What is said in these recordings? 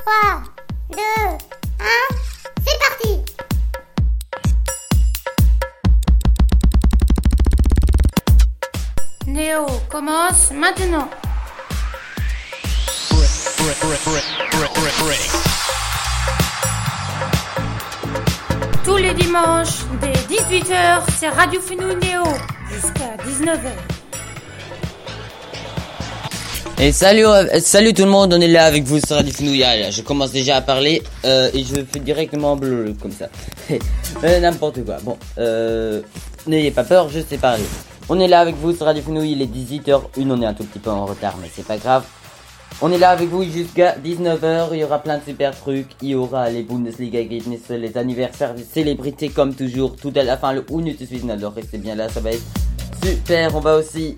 3, 2, 1, c'est parti! Néo commence maintenant. Tous les dimanches, dès 18h, c'est Radio Fenouil Néo, jusqu'à 19h. Et salut tout le monde, on est là avec vous sur Radio Fenouil. Je commence déjà à parler et je fais directement bleu comme ça. N'importe quoi. Bon, n'ayez pas peur, je sais parler. On est là avec vous sur Radio Fenouil, il est 18h01, on est un tout petit peu en retard mais c'est pas grave. On est là avec vous jusqu'à 19h, il y aura plein de super trucs, il y aura les Bundesliga Ergebnisse, les anniversaires, les célébrités comme toujours, tout à la fin le Unnützes Wissen, alors restez bien là, ça va être super. On va aussi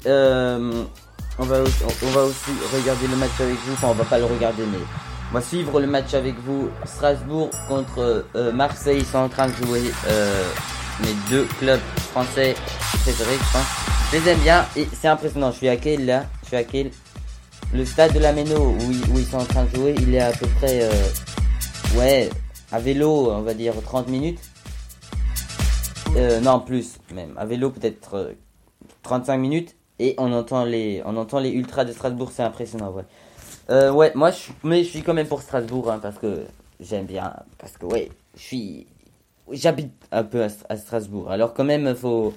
regarder le match avec vous, enfin on va pas le regarder mais on va suivre le match avec vous. Strasbourg contre Marseille, ils sont en train de jouer mes deux clubs français préférés je pense. Je les aime bien et c'est impressionnant, je suis à quel le stade de la Méno où ils sont en train de jouer, il est à peu près à vélo on va dire 30 minutes. Non plus même, à vélo peut-être 35 minutes. Et on entend les ultras de Strasbourg, c'est impressionnant, ouais. Moi je suis quand même pour Strasbourg, hein, parce que j'aime bien, parce que j'habite un peu à Strasbourg. Alors quand même faut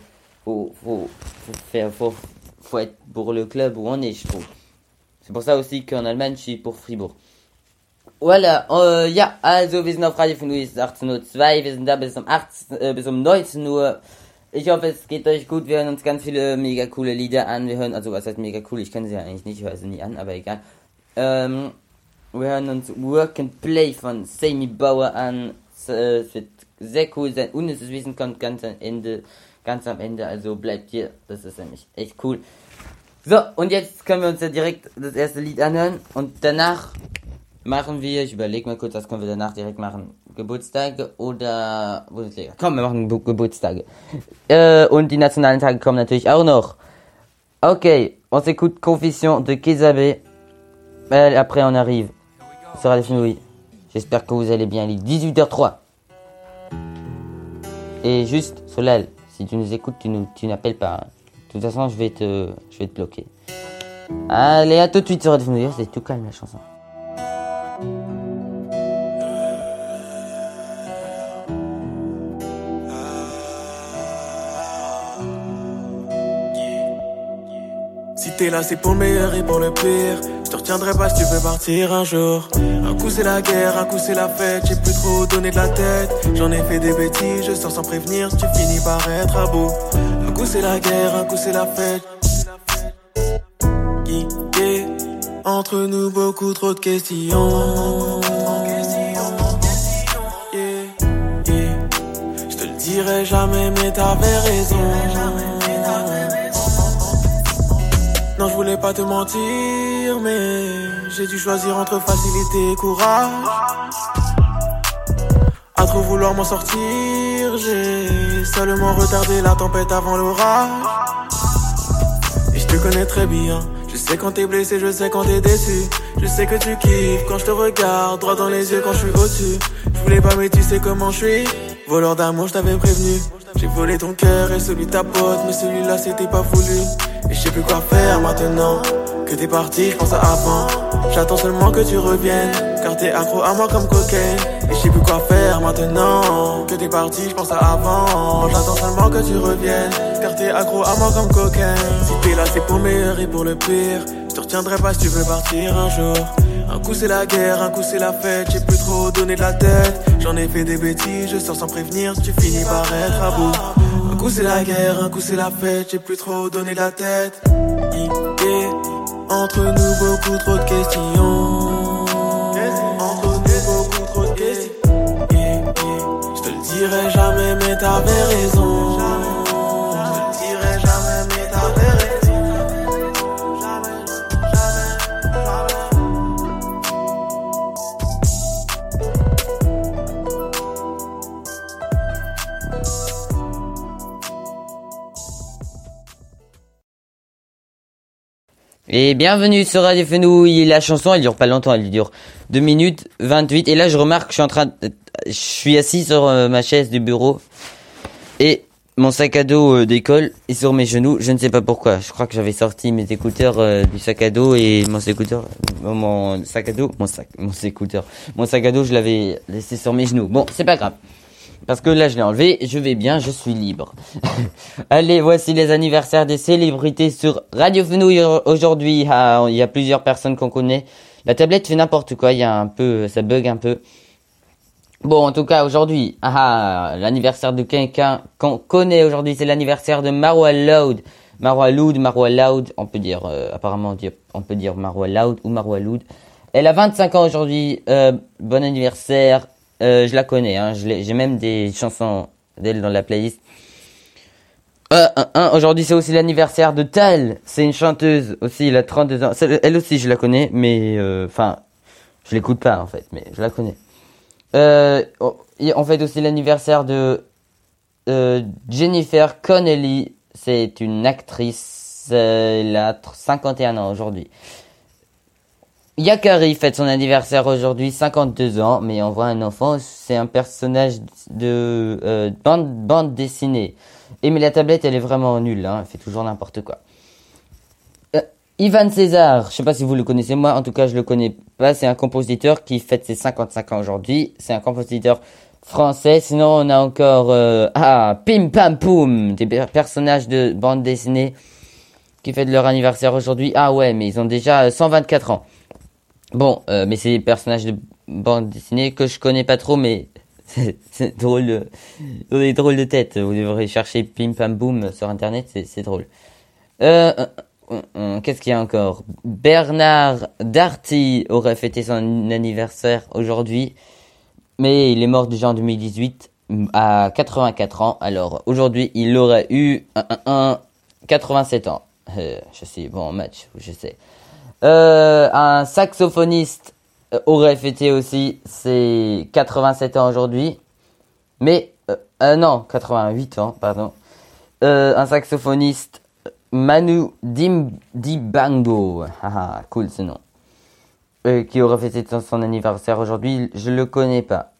être pour le club où on est, je trouve. C'est pour ça aussi qu'en Allemagne je suis pour Fribourg. Voilà, ja, also wir sind auf Radio Fenouil, es ist 18:02, wir sind da bis um 19 Uhr. Ich hoffe, es geht euch gut. Wir hören uns ganz viele mega coole Lieder an. Was heißt mega cool? Ich kenne sie ja eigentlich nicht, ich höre sie nie an, aber egal. Wir hören uns Work and Play von Sammy Bauer an. Es wird sehr cool sein. Unnützes Wissen kommt ganz am Ende, also bleibt hier. Das ist nämlich echt cool. So, und jetzt können wir uns ja direkt das erste Lied anhören. Und danach machen wir, ich überlege mal kurz, was können wir danach direkt machen? Geburtstage oder Bundesliga? Komm, wir machen Geburtstage. Und die nationalen Tage kommen natürlich auch noch. Ok, on s'écoute Confession de Kézabé. Après on arrive sur Radio Fenouil. J'espère que vous allez bien. Il est 18h03. Et juste, Solal, si tu nous écoutes, tu n'appelles pas. Hein. De toute façon, je vais te bloquer. Allez, à tout de suite sur Radio Fenouil. C'est tout calme la chanson. Si t'es là c'est pour le meilleur et pour le pire. Je te retiendrai pas si tu veux partir un jour. Un coup c'est la guerre, un coup c'est la fête. J'ai plus trop donné de la tête. J'en ai fait des bêtises, je sors sans prévenir. Tu finis par être à bout. Un coup c'est la guerre, un coup c'est la fête. Yeah. Entre nous beaucoup trop de questions. Yeah. Je te le dirai jamais mais t'avais raison. Non, je voulais pas te mentir, mais j'ai dû choisir entre facilité et courage. À trop vouloir m'en sortir, j'ai seulement retardé la tempête avant l'orage. Et je te connais très bien, je sais quand t'es blessé, je sais quand t'es déçu. Je sais que tu kiffes quand je te regarde droit dans les yeux quand je suis au-dessus. Je voulais pas mais tu sais comment je suis. Voleur d'amour, je t'avais prévenu. J'ai volé ton cœur et celui de ta pote, mais celui-là c'était pas voulu. Et je sais plus quoi faire maintenant que t'es parti, je pense à avant. J'attends seulement que tu reviennes, car t'es accro à moi comme cocaine. Et je sais plus quoi faire maintenant que t'es parti, je pense à avant. J'attends seulement que tu reviennes, car t'es accro à moi comme cocaine. Si t'es là c'est pour le meilleur et pour le pire. Je te retiendrai pas si tu veux partir un jour. Un coup c'est la guerre, un coup c'est la fête. J'ai plus trop donné de la tête. J'en ai fait des bêtises, je sors sans prévenir. Tu finis par être à bout. Un coup c'est la guerre, un coup c'est la fête. J'ai plus trop donné de la tête. Yeah. Entre nous beaucoup trop de questions. Entre nous beaucoup trop de questions. Yeah. Je te le dirai jamais mais t'avais raison. Je te le dirai jamais mais t'avais raison. Et bienvenue sur Radio Fenouil. La chanson, elle dure pas longtemps, elle dure 2 minutes 28. Et là, je remarque que je suis assis sur ma chaise du bureau. Et mon sac à dos d'école est sur mes genoux. Je ne sais pas pourquoi. Je crois que j'avais sorti mes écouteurs du sac à dos et mon sac à dos, mon sac à dos, je l'avais laissé sur mes genoux. Bon, c'est pas grave. Parce que là, je l'ai enlevé, je vais bien, je suis libre. Allez, voici les anniversaires des célébrités sur Radio Fenouil aujourd'hui. Ah, il y a plusieurs personnes qu'on connaît. La tablette fait n'importe quoi, ça bug un peu. Bon, en tout cas, aujourd'hui, l'anniversaire de quelqu'un qu'on connaît aujourd'hui, c'est l'anniversaire de Marwa Loud. Marwa Loud, on peut dire, on peut dire Marwa Loud ou Marwa Loud. Elle a 25 ans aujourd'hui, bon anniversaire. Je la connais, hein. J'ai même des chansons d'elle dans la playlist. Aujourd'hui, c'est aussi l'anniversaire de Tal. C'est une chanteuse aussi, elle a 32 ans. Elle aussi, je la connais, mais je l'écoute pas en fait, mais je la connais. On fait aussi l'anniversaire de Jennifer Connelly. C'est une actrice. Elle a 51 ans aujourd'hui. Yakari fête son anniversaire aujourd'hui, 52 ans, mais on voit un enfant, c'est un personnage de bande dessinée. Et mais la tablette, elle est vraiment nulle, hein, elle fait toujours n'importe quoi. Ivan César, je sais pas si vous le connaissez, moi en tout cas je le connais pas, c'est un compositeur qui fête ses 55 ans aujourd'hui, c'est un compositeur français. Sinon on a encore Pim Pam Poum, des personnages de bande dessinée qui fêtent leur anniversaire aujourd'hui. Ah ouais, mais ils ont déjà 124 ans. Bon, mais c'est des personnages de bande dessinée que je connais pas trop, mais c'est drôle. Ils ont des drôles de tête. Vous devrez chercher Pim Pam Boom sur internet, c'est drôle. Qu'est-ce qu'il y a encore? Bernard Darty aurait fêté son anniversaire aujourd'hui, mais il est mort déjà en 2018 à 84 ans. Alors aujourd'hui, il aurait eu 87 ans. Je suis bon en match, je sais. Un saxophoniste aurait fêté aussi ses 87 ans aujourd'hui. Mais, non, 88 ans, pardon. Un saxophoniste, Manu Dibango. Haha, cool ce nom. Qui aurait fêté son anniversaire aujourd'hui. Je le connais pas.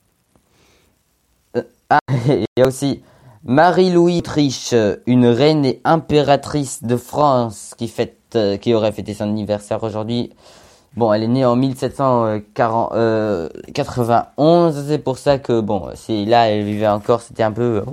Il y a aussi Marie-Louise Triche, une reine et impératrice de France qui aurait fêté son anniversaire aujourd'hui. Bon, elle est née en 1791, c'est pour ça que, bon, si là elle vivait encore, c'était un peu,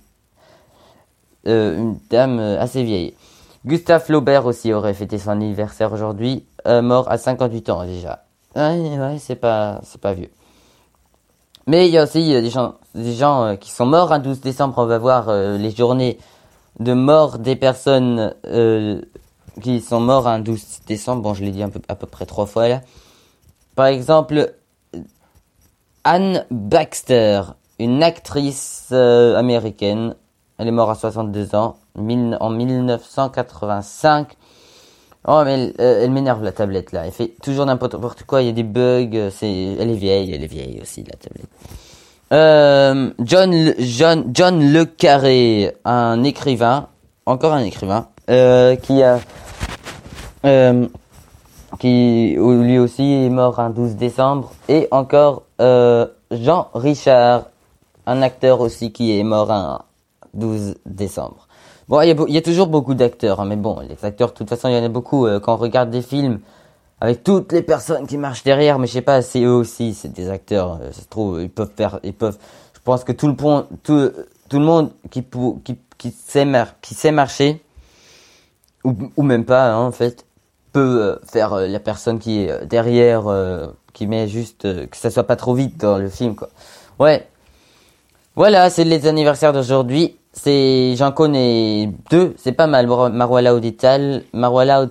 une dame assez vieille. Gustave Flaubert aussi aurait fêté son anniversaire aujourd'hui, mort à 58 ans déjà. Ouais, c'est pas vieux. Mais il y a aussi des gens qui sont morts un 12 décembre. On va voir les journées de mort des personnes qui sont morts un 12 décembre. Bon, je l'ai dit à peu près 3 fois là. Par exemple, Anne Baxter, une actrice américaine. Elle est morte à 62 ans en 1985. Oh, mais elle m'énerve la tablette là. Elle fait toujours n'importe quoi. Il y a des bugs. Elle est vieille aussi la tablette. John Le Carré, un écrivain, encore un écrivain, qui lui aussi est mort un 12 décembre. Et encore Jean Richard, un acteur aussi qui est mort un 12 décembre. Bon, il y a toujours beaucoup d'acteurs, hein, mais bon, les acteurs, de toute façon, il y en a beaucoup. Quand on regarde des films, avec toutes les personnes qui marchent derrière, mais je sais pas, c'est eux aussi, c'est des acteurs, ça se trouve, je pense que tout le monde qui sait marcher, ou même pas, hein, en fait, peut faire la personne qui est derrière, qui met juste, que ça soit pas trop vite dans le film, quoi. Ouais. Voilà, c'est les anniversaires d'aujourd'hui. J'en connais 2, c'est pas mal. Marwa Loud et Tal. Marwa Loud,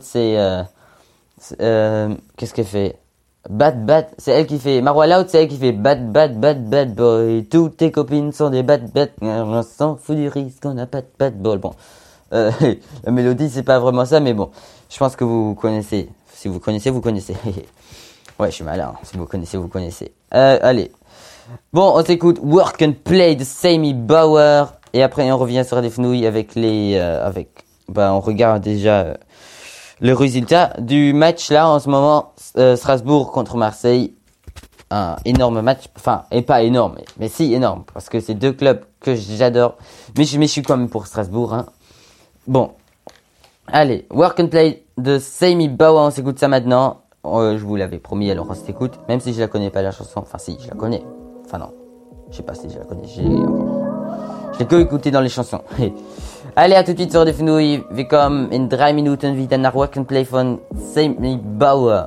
qu'est-ce qu'elle fait? Bad, c'est elle qui fait. Marwa Loud, c'est elle qui fait bad boy. Toutes tes copines sont des bad. On s'en fout du risque, on n'a pas de bad boy. Bon, la mélodie, c'est pas vraiment ça, mais bon, je pense que vous connaissez. Si vous connaissez, vous connaissez. Ouais, je suis malin. Si vous connaissez, vous connaissez. Allez. Bon, on s'écoute Work and Play de Sammy Bauer. Et après, on revient sur des fenouilles avec on regarde déjà le résultat du match là en ce moment, Strasbourg contre Marseille. Un énorme match, enfin, et pas énorme, mais si énorme, parce que c'est deux clubs que j'adore, mais je suis quand même pour Strasbourg, hein. Bon, allez, Work and Play de Sammy Bauer, on s'écoute ça maintenant. Je vous l'avais promis, alors on s'écoute, même si je la connais pas la chanson, enfin si, je la connais, enfin non, je sais pas si je la connais, je l'ai que écouté dans les chansons. Allez, à tout de suite sur Radio Fenouil, wir kommen in 3 Minuten wieder nach Work and Play von Sammy Bauer.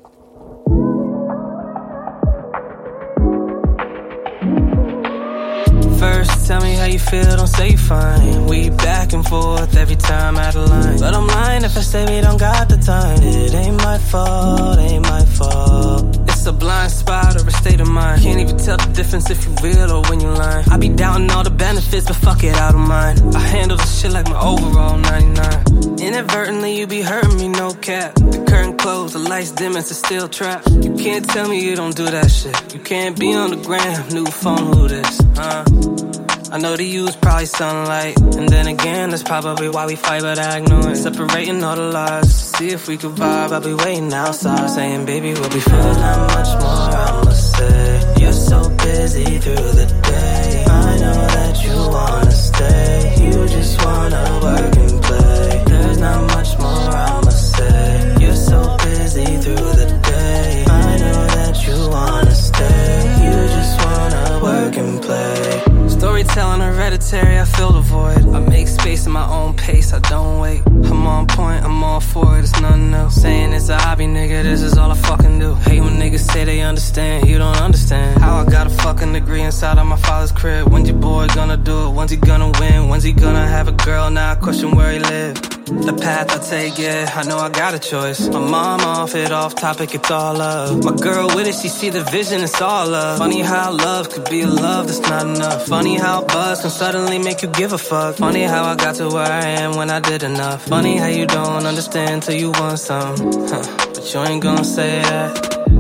First, tell me how you feel, don't say fine. We back and forth every time out of line. But I'm lying if I say we don't got the time. It ain't my fault, ain't my fault. It's a blind spot or a state of mind. Can't even tell the difference if you real or when you lying. I be doubting all the benefits, but fuck it, I don't mind. I handle this shit like my overall 99. Inadvertently, you be hurting me, no cap. The curtain closed, the lights dim, it's a still trap. You can't tell me you don't do that shit. You can't be on the gram, new phone, who this, I know to use probably sunlight. And then again, that's probably why we fight, but I ignore it. Separating all the lies, to see if we could vibe. I'll be waiting outside, saying, baby, we'll be fine. There's not much more I'ma say. You're so busy through the day. I know that you wanna stay. You just wanna work and play. There's not much more I'ma say. You're so busy through the day. I know that you wanna stay. You just wanna work and play. Storytelling hereditary, I fill the void. I make space in my own pace, I don't wait. I'm on point, I'm all for it, it's nothing else. Saying it's a hobby, nigga, this is all I fucking do. Hate when niggas say they understand, you don't understand. How I got a fucking degree inside of my father's crib. When's your boy gonna do it? When's he gonna win? When's he gonna have a girl? Now I question where he live. The path I take, yeah, I know I got a choice. My mom off it, off topic, it's all love. My girl with it, she see the vision, it's all love. Funny how love could be a love that's not enough. Funny how buzz can suddenly make you give a fuck. Funny how I got to where I am when I did enough. Funny how you don't understand till you want some, but you ain't gonna say that.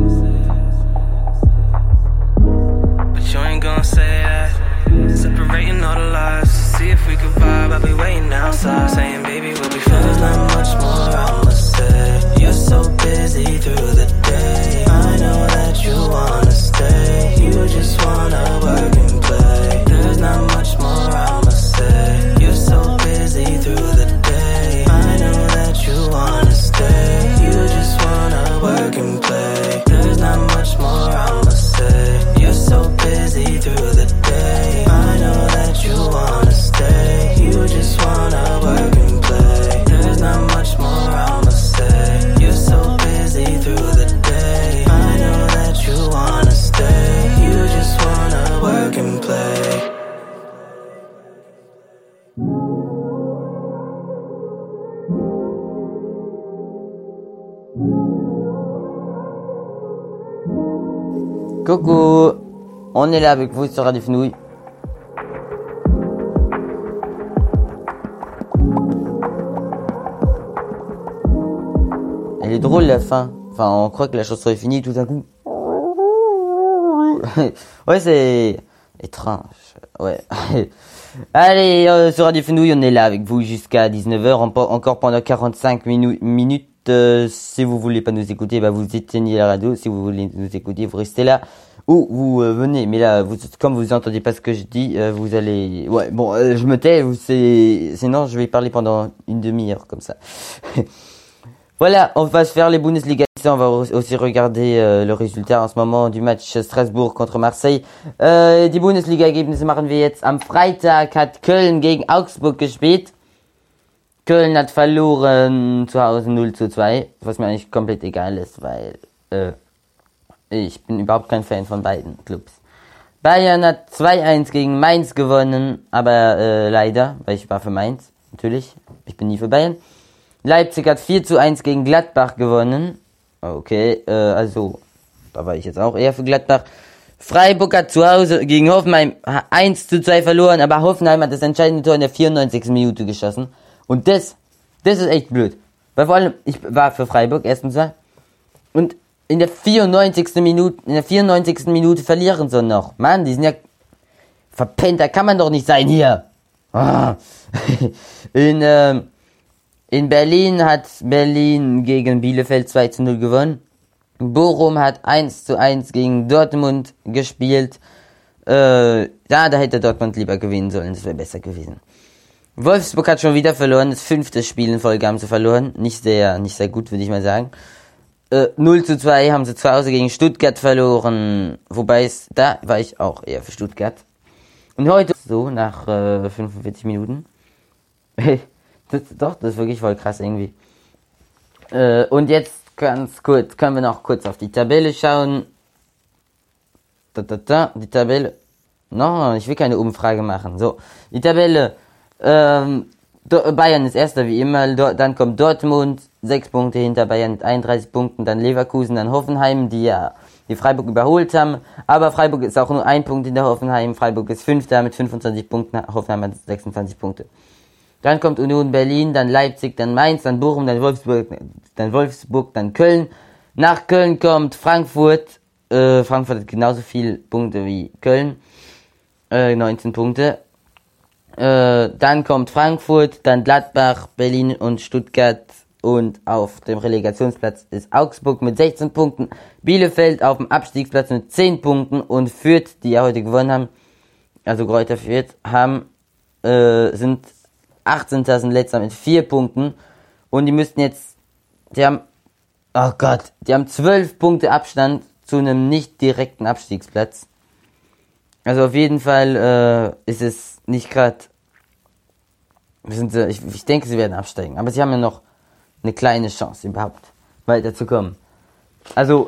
But you ain't gonna say that. Separating all the lies, see if we could vibe. I'll be waiting outside, saying, baby, we'll be fine. There's not much more I'ma say. You're so busy through the day. I know that you wanna stay. You just wanna work and play. There's not much more I'ma say. You're so busy through the day. I know that you wanna stay. You just wanna work and play. There's not much more I'ma say. You're so busy through the day. I know that you wanna stay. You just wanna work and play. There's not much more I'ma say. You're so busy through the day. I know that you wanna stay. You just wanna work and play. Coucou, on est là avec vous sur Radio Fenouil. Elle est drôle la fin. Enfin, on croit que la chanson est finie tout d'un coup. Ouais, c'est étrange. Ouais. Allez, sur Radio Fenouil, on est là avec vous jusqu'à 19h, encore pendant 45 minutes. Si vous voulez pas nous écouter, bah vous éteignez la radio. Si vous voulez nous écouter, vous restez là ou vous venez. Mais là, comme vous entendez pas ce que je dis, vous allez. Ouais, bon, je me tais. Sinon, je vais parler pendant une demi-heure comme ça. Voilà, on va se faire les Bundesliga. On va aussi regarder le résultat en ce moment du match Strasbourg contre Marseille. Die Bundesliga-Ergebnisse machen wir jetzt. Am Freitag hat Köln gegen Augsburg gespielt. Köln hat verloren zu Hause 0:2, was mir eigentlich komplett egal ist, weil ich bin überhaupt kein Fan von beiden Clubs. Bayern hat 2:1 gegen Mainz gewonnen, aber leider, weil ich war für Mainz, natürlich, ich bin nie für Bayern. Leipzig hat 4:1 gegen Gladbach gewonnen, okay, also da war ich jetzt auch eher für Gladbach. Freiburg hat zu Hause gegen Hoffenheim 1:2 verloren, aber Hoffenheim hat das entscheidende Tor in der 94. Minute geschossen. Und das ist echt blöd. Weil vor allem, ich war für Freiburg, erstens mal. Und in der 94. Minute verlieren sie noch. Mann, die sind ja verpennt, da kann man doch nicht sein hier. Ah. In Berlin hat Berlin gegen Bielefeld 2-0 gewonnen. Bochum hat 1-1 gegen Dortmund gespielt. Da hätte Dortmund lieber gewinnen sollen, das wäre besser gewesen. Wolfsburg hat schon wieder verloren, das 5. Spiel in Folge haben sie verloren. Nicht sehr gut, würde ich mal sagen. 0-2 haben sie zu Hause gegen Stuttgart verloren. Wobei da war ich auch eher für Stuttgart. Und heute, so, nach 45 Minuten. Das ist wirklich voll krass irgendwie. Und jetzt ganz kurz, können wir noch kurz auf die Tabelle schauen. Die Tabelle. No, ich will keine Umfrage machen. So, die Tabelle. Bayern ist erster wie immer, dann kommt Dortmund, 6 Punkte hinter Bayern mit 31 Punkten, dann Leverkusen, dann Hoffenheim, die Freiburg überholt haben, aber Freiburg ist auch nur 1 Punkt hinter Hoffenheim, Freiburg ist 5. mit 25 Punkten, Hoffenheim hat 26 Punkte. Dann kommt Union Berlin, dann Leipzig, dann Mainz, dann Bochum, dann Wolfsburg, dann Köln. Nach Köln kommt Frankfurt. Frankfurt hat genauso viele Punkte wie Köln. 19 Punkte. Dann kommt Frankfurt, dann Gladbach, Berlin und Stuttgart. Und auf dem Relegationsplatz ist Augsburg mit 16 Punkten. Bielefeld auf dem Abstiegsplatz mit 10 Punkten. Und Fürth, die ja heute gewonnen haben, also Greuther Fürth, sind 18. sind letzter mit 4 Punkten. Und die müssten jetzt, die haben 12 Punkte Abstand zu einem nicht direkten Abstiegsplatz. Also auf jeden Fall ist es nicht gerade, ich denke, sie werden absteigen. Aber sie haben ja noch eine kleine Chance überhaupt weiterzukommen. Also,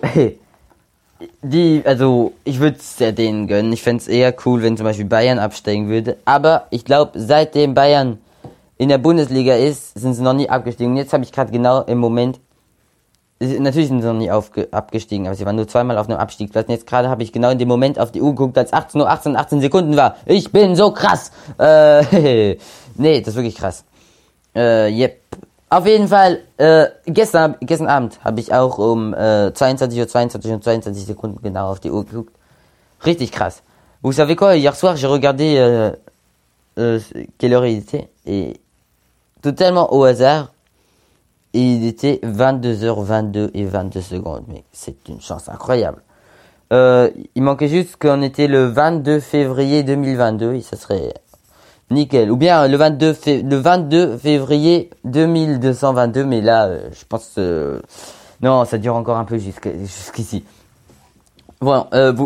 ich würde es ja denen gönnen. Ich fände es eher cool, wenn zum Beispiel Bayern absteigen würde. Aber ich glaube, seitdem Bayern in der Bundesliga ist, sind sie noch nie abgestiegen. Jetzt habe ich gerade genau im Moment, natürlich sind sie noch nie abgestiegen, aber sie waren nur zweimal auf einem Abstiegsplatz. Und jetzt gerade habe ich genau in dem Moment auf die Uhr geguckt, als 18 Sekunden war. Ich bin so krass. Nee, das ist wirklich krass. Yep. Auf jeden Fall, gestern Abend habe ich auch um 22:22 und 22 Sekunden genau auf die Uhr geguckt. Richtig krass. Vous savez quoi, hier soir j'ai regardé quelle heure il était et totalement au hasard, il était 22h22 et 22 secondes. Mais c'est une chance incroyable. Il manquait juste qu'on était le 22 février 2022 et ça serait nickel. Ou bien le 22 février 2222, mais là, je pense non, ça dure encore un peu jusqu'ici. Bon,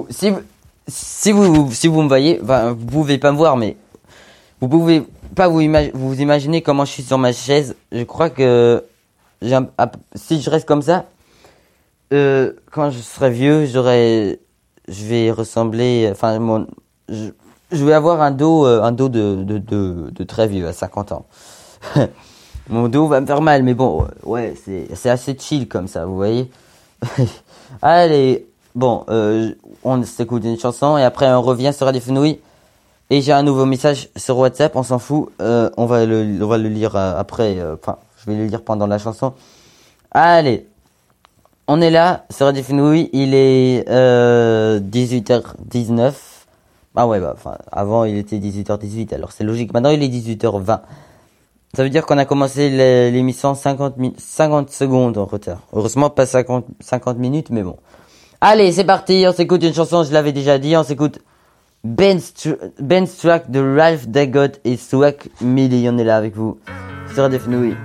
si vous me voyez, enfin, vous pouvez pas me voir, mais vous pouvez pas vous imaginer comment je suis sur ma chaise. Je crois que si je reste comme ça, quand je serai vieux, je vais ressembler, enfin, je vais avoir un dos de très vieux, à 50 ans. Mon dos va me faire mal, mais bon, ouais, c'est assez chill comme ça, vous voyez. Allez, bon, on s'écoute une chanson et après on revient sur Radio Fenouil. Et j'ai un nouveau message sur WhatsApp, on s'en fout, on va le lire après, enfin, je vais le lire pendant la chanson. Allez, on est là sur Radio Fenouil, il est 18h19. Ah ouais, enfin, avant il était 18h18, alors c'est logique. Maintenant il est 18h20. Ça veut dire qu'on a commencé l'émission 50 secondes en retard. Heureusement pas 50 minutes, mais bon. Allez, c'est parti, on s'écoute une chanson, je l'avais déjà dit, on s'écoute Ben's Track de Ralph Dagot et Swag Millie. On est là avec vous sur Radio Fenouil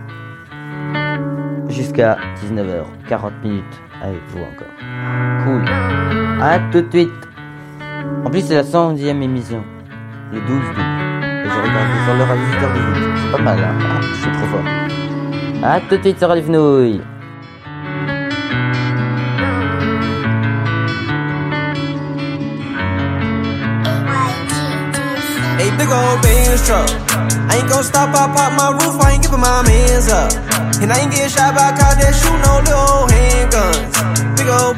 jusqu'à 19h40 avec vous encore. Cool. À tout de suite. En plus c'est la 110e émission, le 12 août. Et je regarde sur l'heure à 18h18. C'est pas mal, hein. Je suis trop fort. À tout de suite sur Radio Fenouil. Hey, big old Benz truck. I ain't gon' stop, I pop my roof, I ain't giving my mans up. And I ain't getting shot by cops that shoot no little handguns. Big old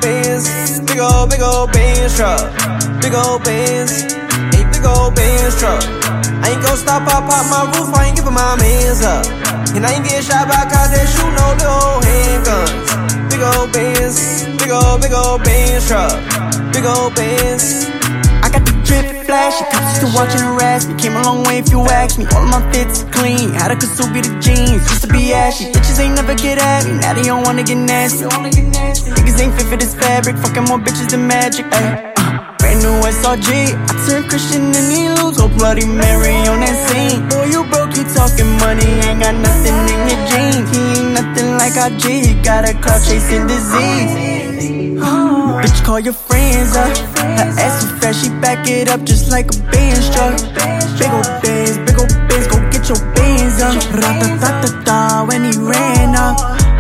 Benz truck. Big old Benz, hey, big old Benz truck. I ain't gon' stop, I pop my roof, I ain't giving my mans up. And I ain't getting shot by cops that shoot no little handguns. Big old Benz truck. Big old Benz. I got the drip flash. The cops used to watch and harass me. Came a long way if you ask me. All of my fits clean. Had a Kasubi the jeans. Used to be ashy. Bitches ain't never get at me. Now they don't wanna get nasty. Niggas ain't fit for this fabric. Fucking more bitches than magic. Ay. Brand new SRG. I turned Christian and he lose. Go Bloody Mary on that scene. Boy, you broke, you talking money. Ain't got nothing in your jeans. He ain't nothing like RG. He got a crowd chasing disease. Bitch, call your friends up. Her ass so fast, she back it up just like a Benz truck. Big ol' Benz, go get your bands up. Ra-ta-ta-ta-ta when he ran up.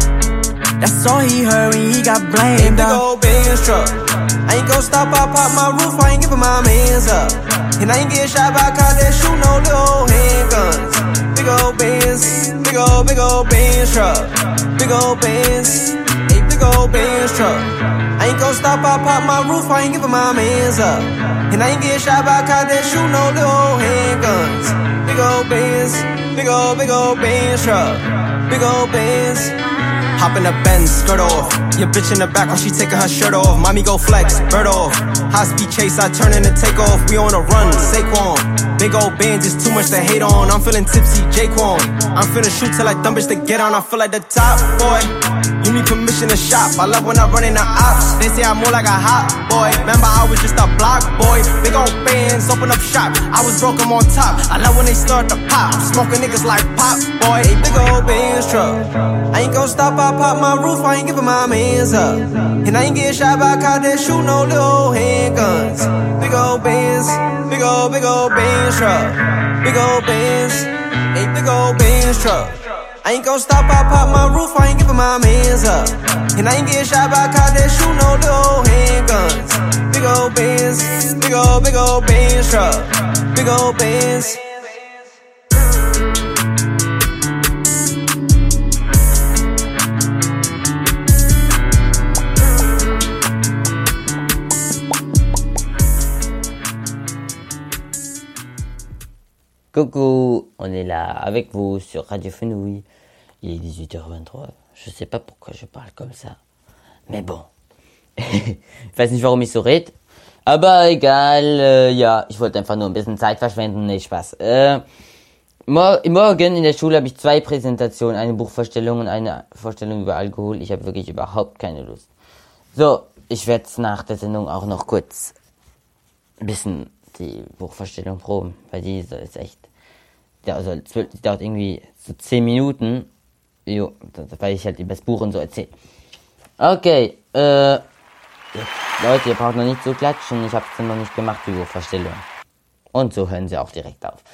That's all he heard when he got blamed up. Big ol' Benz truck. I ain't gon' stop, I pop my roof, I ain't giving my mans up. And I ain't getting shot by cops that shoot no little handguns. Big ol' Benz, big ol' Benz truck. Big ol' Benz, big ol' Benz truck. I ain't gon' stop, I pop my roof, I ain't giving my mans up. And I ain't getting shot by cops that shoot no little handguns. Big ol' Benz, big ol' Benz truck. Big ol' Benz. Hop in the Benz, skirt off. Your bitch in the back while she taking her shirt off. Mommy go flex, bird off. High speed chase, I turn in the takeoff. We on a run, Saquon. Big old bands, it's too much to hate on. I'm feeling tipsy, Jaquan. I'm finna shoot till I dumb bitch to get on. I feel like the top boy. You need permission to shop. I love when I run in the ops. They say I'm more like a hot boy. Remember I was just a block boy. Big old bands, open up shop. I was broke, I'm on top. I love when they start to pop. I'm smoking niggas like pop boy. Big old Benz truck. I ain't gon' stop, I pop my roof, I ain't giving my mans up. And I ain't getting shot by cops that shoot no little handguns. Big ol' Benz, big ol' Benz truck. Big ol' Benz, big ol' Benz truck. I ain't gon' stop, I pop my roof, I ain't giving my mans up. And I ain't getting shot by cops that shoot no little handguns. Big ol' Benz, big ol' Benz truck. Big ol' Benz. Coucou, on est là avec vous sur Radio Fenouil. Il est 18h23. Je sais pas pourquoi je parle comme ça. Mais bon. Ich weiß nicht, warum ich so rede. Aber egal, ja, ich wollte einfach nur ein bisschen Zeit verschwenden. Nee, Spaß. Morgen in der Schule habe ich 2 Präsentationen. Eine Buchvorstellung und eine Vorstellung über Alkohol. Ich habe wirklich überhaupt keine Lust. So, ich werde nach der Sendung auch noch kurz ein bisschen die Buchvorstellung proben, weil die ist echt, die dauert irgendwie so 10 Minuten, weil ich halt über das Buch und so erzähle. Okay, jetzt, Leute, ihr braucht noch nicht so klatschen, ich habe es noch nicht gemacht, die Buchvorstellung. Und so hören sie auch direkt auf.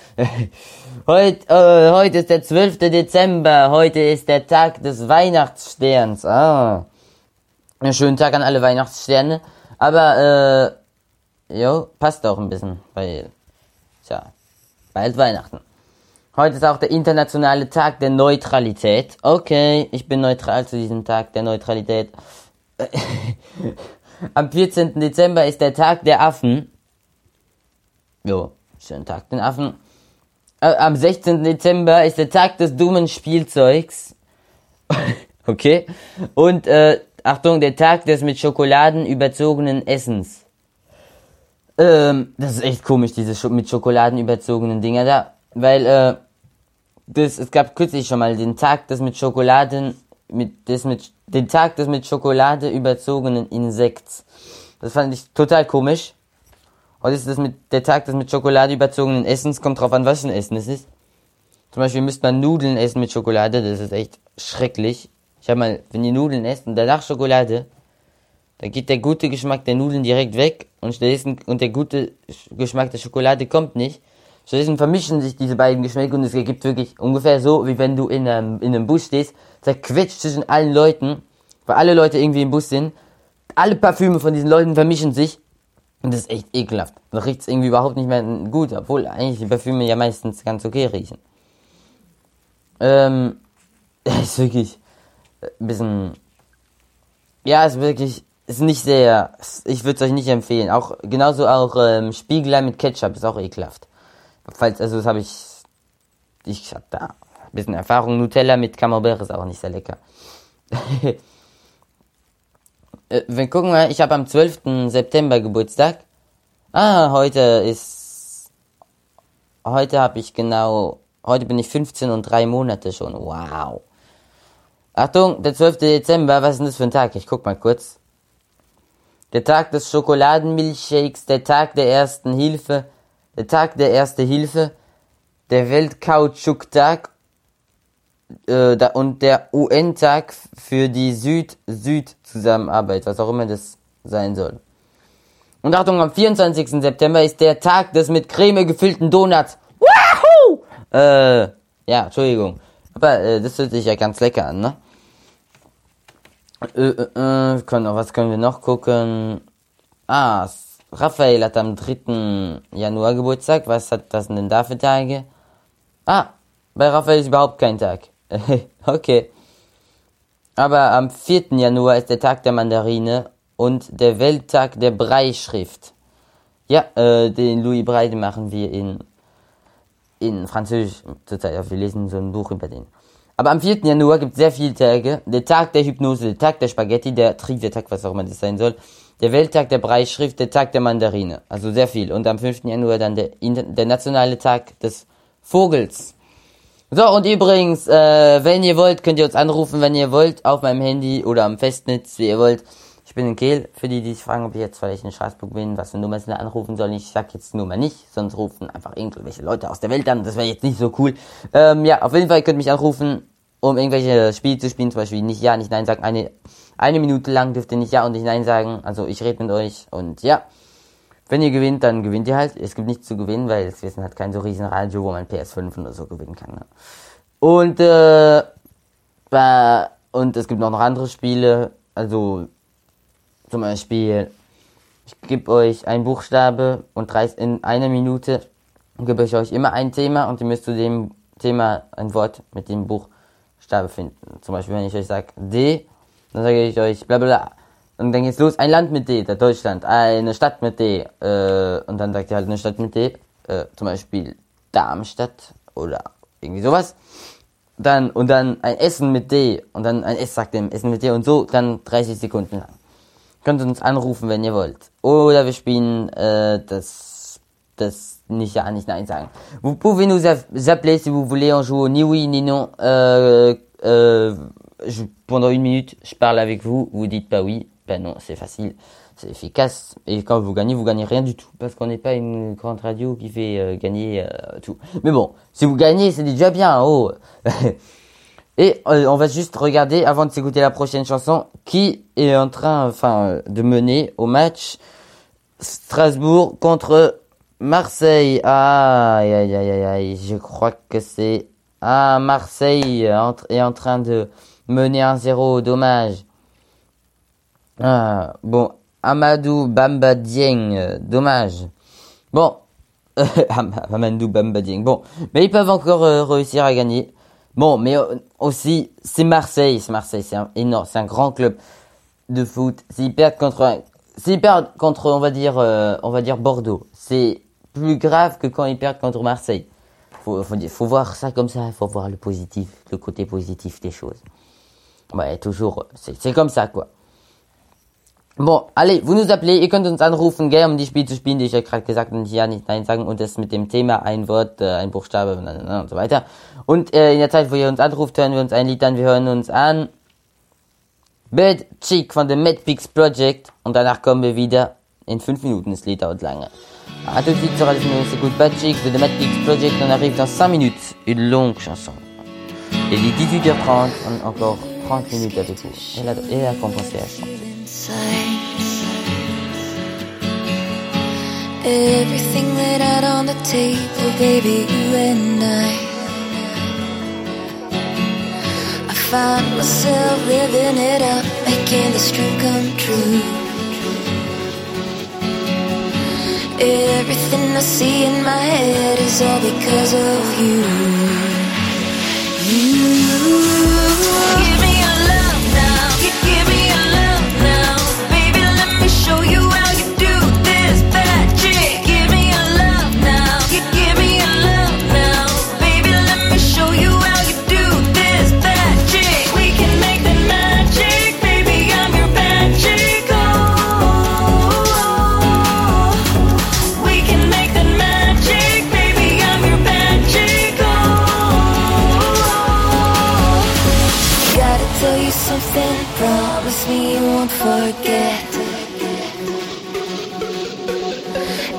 Heute ist der 12. Dezember, heute ist der Tag des Weihnachtssterns. Einen schönen Tag an alle Weihnachtssterne, aber passt auch ein bisschen, weil, bald Weihnachten. Heute ist auch der internationale Tag der Neutralität. Okay, ich bin neutral zu diesem Tag der Neutralität. Am 14. Dezember ist der Tag der Affen. Schönen Tag den Affen. Am 16. Dezember ist der Tag des dummen Spielzeugs. Okay. Und, Achtung, der Tag des mit Schokoladen überzogenen Essens. Das ist echt komisch, diese mit Schokoladen überzogenen Dinger da, weil, es gab kürzlich schon mal den Tag des mit Schokoladen, den Tag des mit Schokolade überzogenen Insekts. Das fand ich total komisch. Heute ist der Tag des mit Schokolade überzogenen Essens, kommt drauf an, was für ein Essen es ist. Zum Beispiel müsste man Nudeln essen mit Schokolade, das ist echt schrecklich. Wenn ihr Nudeln esst und danach Schokolade, dann geht der gute Geschmack der Nudeln direkt weg und der gute Geschmack der Schokolade kommt nicht. Stattdessen vermischen sich diese beiden Geschmäcker und es ergibt wirklich ungefähr so, wie wenn du in einem Bus stehst, zerquetscht zwischen allen Leuten, weil alle Leute irgendwie im Bus sind, alle Parfüme von diesen Leuten vermischen sich und das ist echt ekelhaft. Da riecht es irgendwie überhaupt nicht mehr gut, obwohl eigentlich die Parfüme ja meistens ganz okay riechen. Ist wirklich ein bisschen, ist nicht sehr, ich würde es euch nicht empfehlen. Genauso auch Spiegelei mit Ketchup ist auch ekelhaft. Das habe ich habe da ein bisschen Erfahrung. Nutella mit Camembert ist auch nicht sehr lecker. Wir gucken mal, ich habe am 12. September Geburtstag. Heute bin ich 15 und 3 Monate schon. Wow. Achtung, der 12. Dezember, was ist denn das für ein Tag? Ich guck mal kurz. Der Tag des Schokoladenmilchshakes, der Tag der ersten Hilfe, der Tag der Erste Hilfe, der Weltkautschuktag und der UN-Tag für die Süd-Süd-Zusammenarbeit, was auch immer das sein soll. Und Achtung, am 24. September ist der Tag des mit Creme gefüllten Donuts. Wahoo! Ja, Entschuldigung. Aber das hört sich ja ganz lecker an, ne? Was können wir noch gucken? Raphael hat am 3. Januar Geburtstag. Was denn da für Tage? Bei Raphael ist überhaupt kein Tag. Okay. Aber am 4. Januar ist der Tag der Mandarine und der Welttag der Brailleschrift. Ja, den Louis Braille machen wir in Französisch zurzeit. Wir lesen so ein Buch über den. Aber am 4. Januar gibt es sehr viele Tage. Der Tag der Hypnose, der Tag der Spaghetti, der Trivia-Tag, was auch immer das sein soll. Der Welttag der Brailleschrift, der Tag der Mandarine. Also sehr viel. Und am 5. Januar dann der nationale Tag des Vogels. So, und übrigens, wenn ihr wollt, könnt ihr uns anrufen, wenn ihr wollt, auf meinem Handy oder am Festnetz, wie ihr wollt. Ich bin in Kehl, für die sich fragen, ob ich jetzt vielleicht in Straßburg bin, was für Nummer sie anrufen sollen. Ich sag jetzt die Nummer nicht, sonst rufen einfach irgendwelche Leute aus der Welt an. Das wäre jetzt nicht so cool. Ja, auf jeden Fall könnt ihr mich anrufen, um irgendwelche Spiele zu spielen, zum Beispiel nicht Ja, nicht Nein sagen. Eine Minute lang dürft ihr nicht Ja und nicht Nein sagen. Also ich rede mit euch und ja. Wenn ihr gewinnt, dann gewinnt ihr halt. Es gibt nichts zu gewinnen, weil wir sind halt kein so riesen Radio, wo man PS5 oder so gewinnen kann. Ne? Und es gibt noch andere Spiele. Also zum Beispiel, ich gebe euch einen Buchstabe und in einer Minute gebe ich euch immer ein Thema und ihr müsst zu dem Thema ein Wort mit dem Buchstabe finden. Zum Beispiel, wenn ich euch sage D, dann sage ich euch bla bla. Und dann geht's los, ein Land mit D, der Deutschland, eine Stadt mit D, und dann sagt ihr halt eine Stadt mit D, zum Beispiel Darmstadt oder irgendwie sowas. Dann ein Essen mit D, und dann ein S sagt dem Essen mit D und so, dann 30 Sekunden lang. Könnt ihr uns anrufen, wenn ihr wollt. Oder wir spielen, das nicht Ja, nicht Nein sagen. Vous pouvez nous appeler si vous voulez, on joue ni oui ni non, pendant une minute, je parle avec vous, vous dites pas oui. Ben non, c'est facile, c'est efficace. Et quand vous gagnez rien du tout. Parce qu'on n'est pas une grande radio qui fait gagner tout. Mais bon, si vous gagnez, c'est déjà bien. Oh. Et on va juste regarder, avant de s'écouter la prochaine chanson, qui est en train de mener au match Strasbourg contre Marseille. Aïe, je crois que c'est... Marseille est en train de mener 1-0, dommage. Bon, Amadou Bamba Dieng, dommage. Bon, Amadou Bamba Dieng, bon, mais ils peuvent encore réussir à gagner. Bon, mais aussi, c'est Marseille, c'est énorme, c'est un grand club de foot. S'ils perdent contre, on va dire Bordeaux, c'est plus grave que quand ils perdent contre Marseille. Faut voir ça comme ça, faut voir le côté positif des choses. Ouais, toujours, c'est comme ça, quoi. Bon, allez, vous nous appelez, ihr könnt uns anrufen, gell, um die Spiele zu spielen, die ich euch gerade gesagt habe, nicht Ja, nicht Nein sagen und das mit dem Thema, ein Wort, ein Buchstabe und so weiter. Und in der Zeit, wo ihr uns anruft, hören wir uns ein Lied an, wir hören uns an Bad Chick von dem Mad Pigs Project und danach kommen wir wieder in 5 Minuten, das Lied dauert lange. A tout de suite sur Radio Fenouil, c'est écoute Bad Chick de The Mad Pigs Project, on arrive dans 5 minutes, une longue chanson. Il est 18h30, on a encore 30 minutes avec vous. Et la compenser à chanter. Everything laid out on the table, baby, you and I find myself living it up, making this dream come true. Everything I see in my head is all because of you. Give me your love now, give me your love now, baby, let me show you how you do this bad chick. Give me your love now, give me your love now, baby, let me show you how you do this bad chick. We can make the magic, baby, I'm your bad chick. Oh,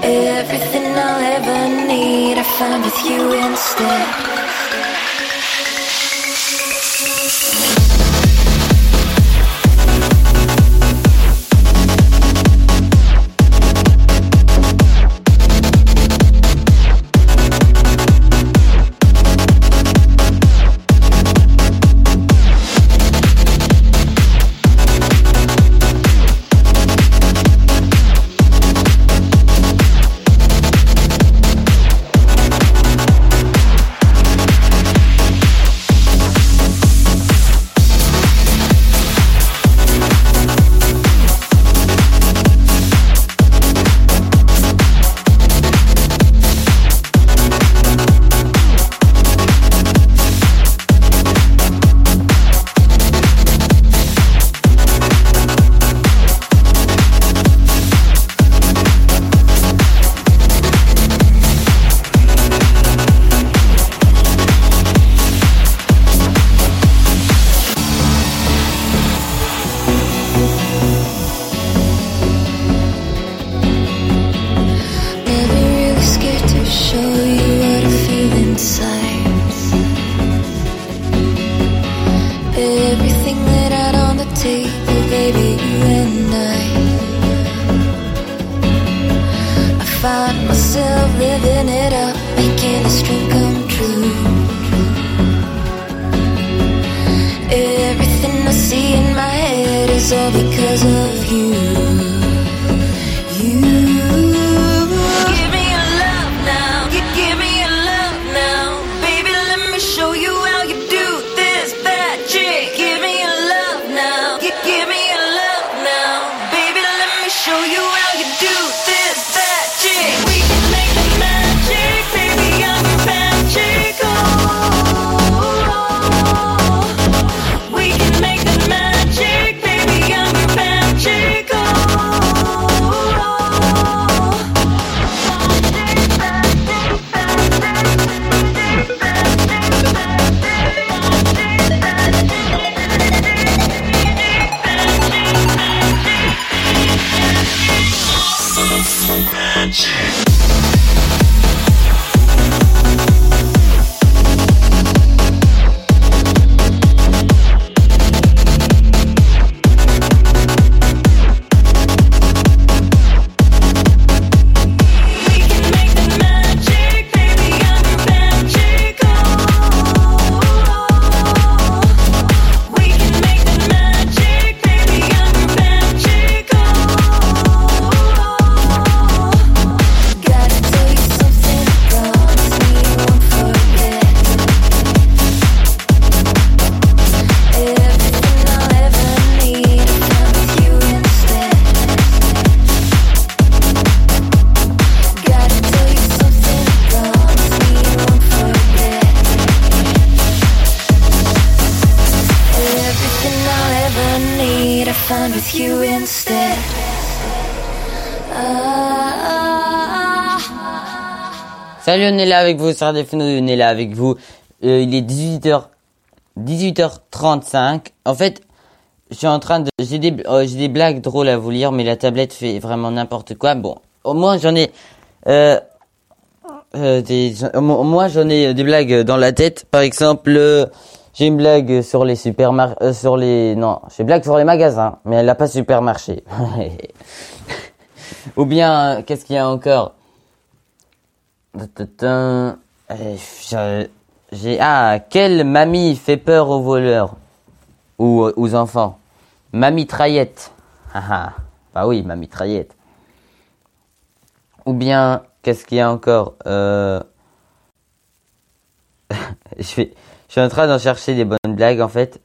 Everything I'll ever need, I found with you instead. Find myself living it up, making this dream come true. Everything I see in my head is all because of you. You give me your love now, you give me your love now. Baby, let me show you how you do this magic. Give me your love now, you give me your love now. Baby, let me show you how you do this magic. We can make the magic, baby, I'm magical. We can make the magic, baby, I'm magical. Found with you instead. Salut, on est là avec vous sur Radio Fenouil, on est là avec vous. Il est 18h35. En fait, je suis en train de, j'ai des blagues drôles à vous lire, mais la tablette fait vraiment n'importe quoi. Bon, au moins j'en ai, des blagues dans la tête. Par exemple, j'ai une blague sur les j'ai une blague sur les magasins, mais elle n'a pas supermarché. Ou bien, qu'est-ce qu'il y a encore? Quelle mamie fait peur aux voleurs? Ou aux enfants? Mamie Traillette. Bah oui, Mamie Traillette. Ou bien, qu'est-ce qu'il y a encore? Je suis en train d'en chercher des bonnes blagues, en fait.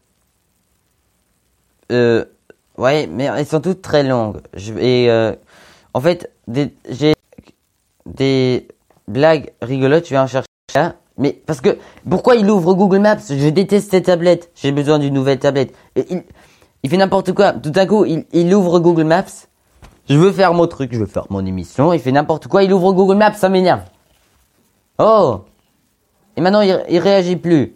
Ouais, mais elles sont toutes très longues. En fait, j'ai des blagues rigolotes, je vais en chercher là. Mais parce que, pourquoi il ouvre Google Maps? Je déteste cette tablette. J'ai besoin d'une nouvelle tablette. Et il fait n'importe quoi. Tout à coup, il ouvre Google Maps. Je veux faire mon truc, je veux faire mon émission. Il fait n'importe quoi, il ouvre Google Maps, ça m'énerve. Oh! Et maintenant, il réagit plus.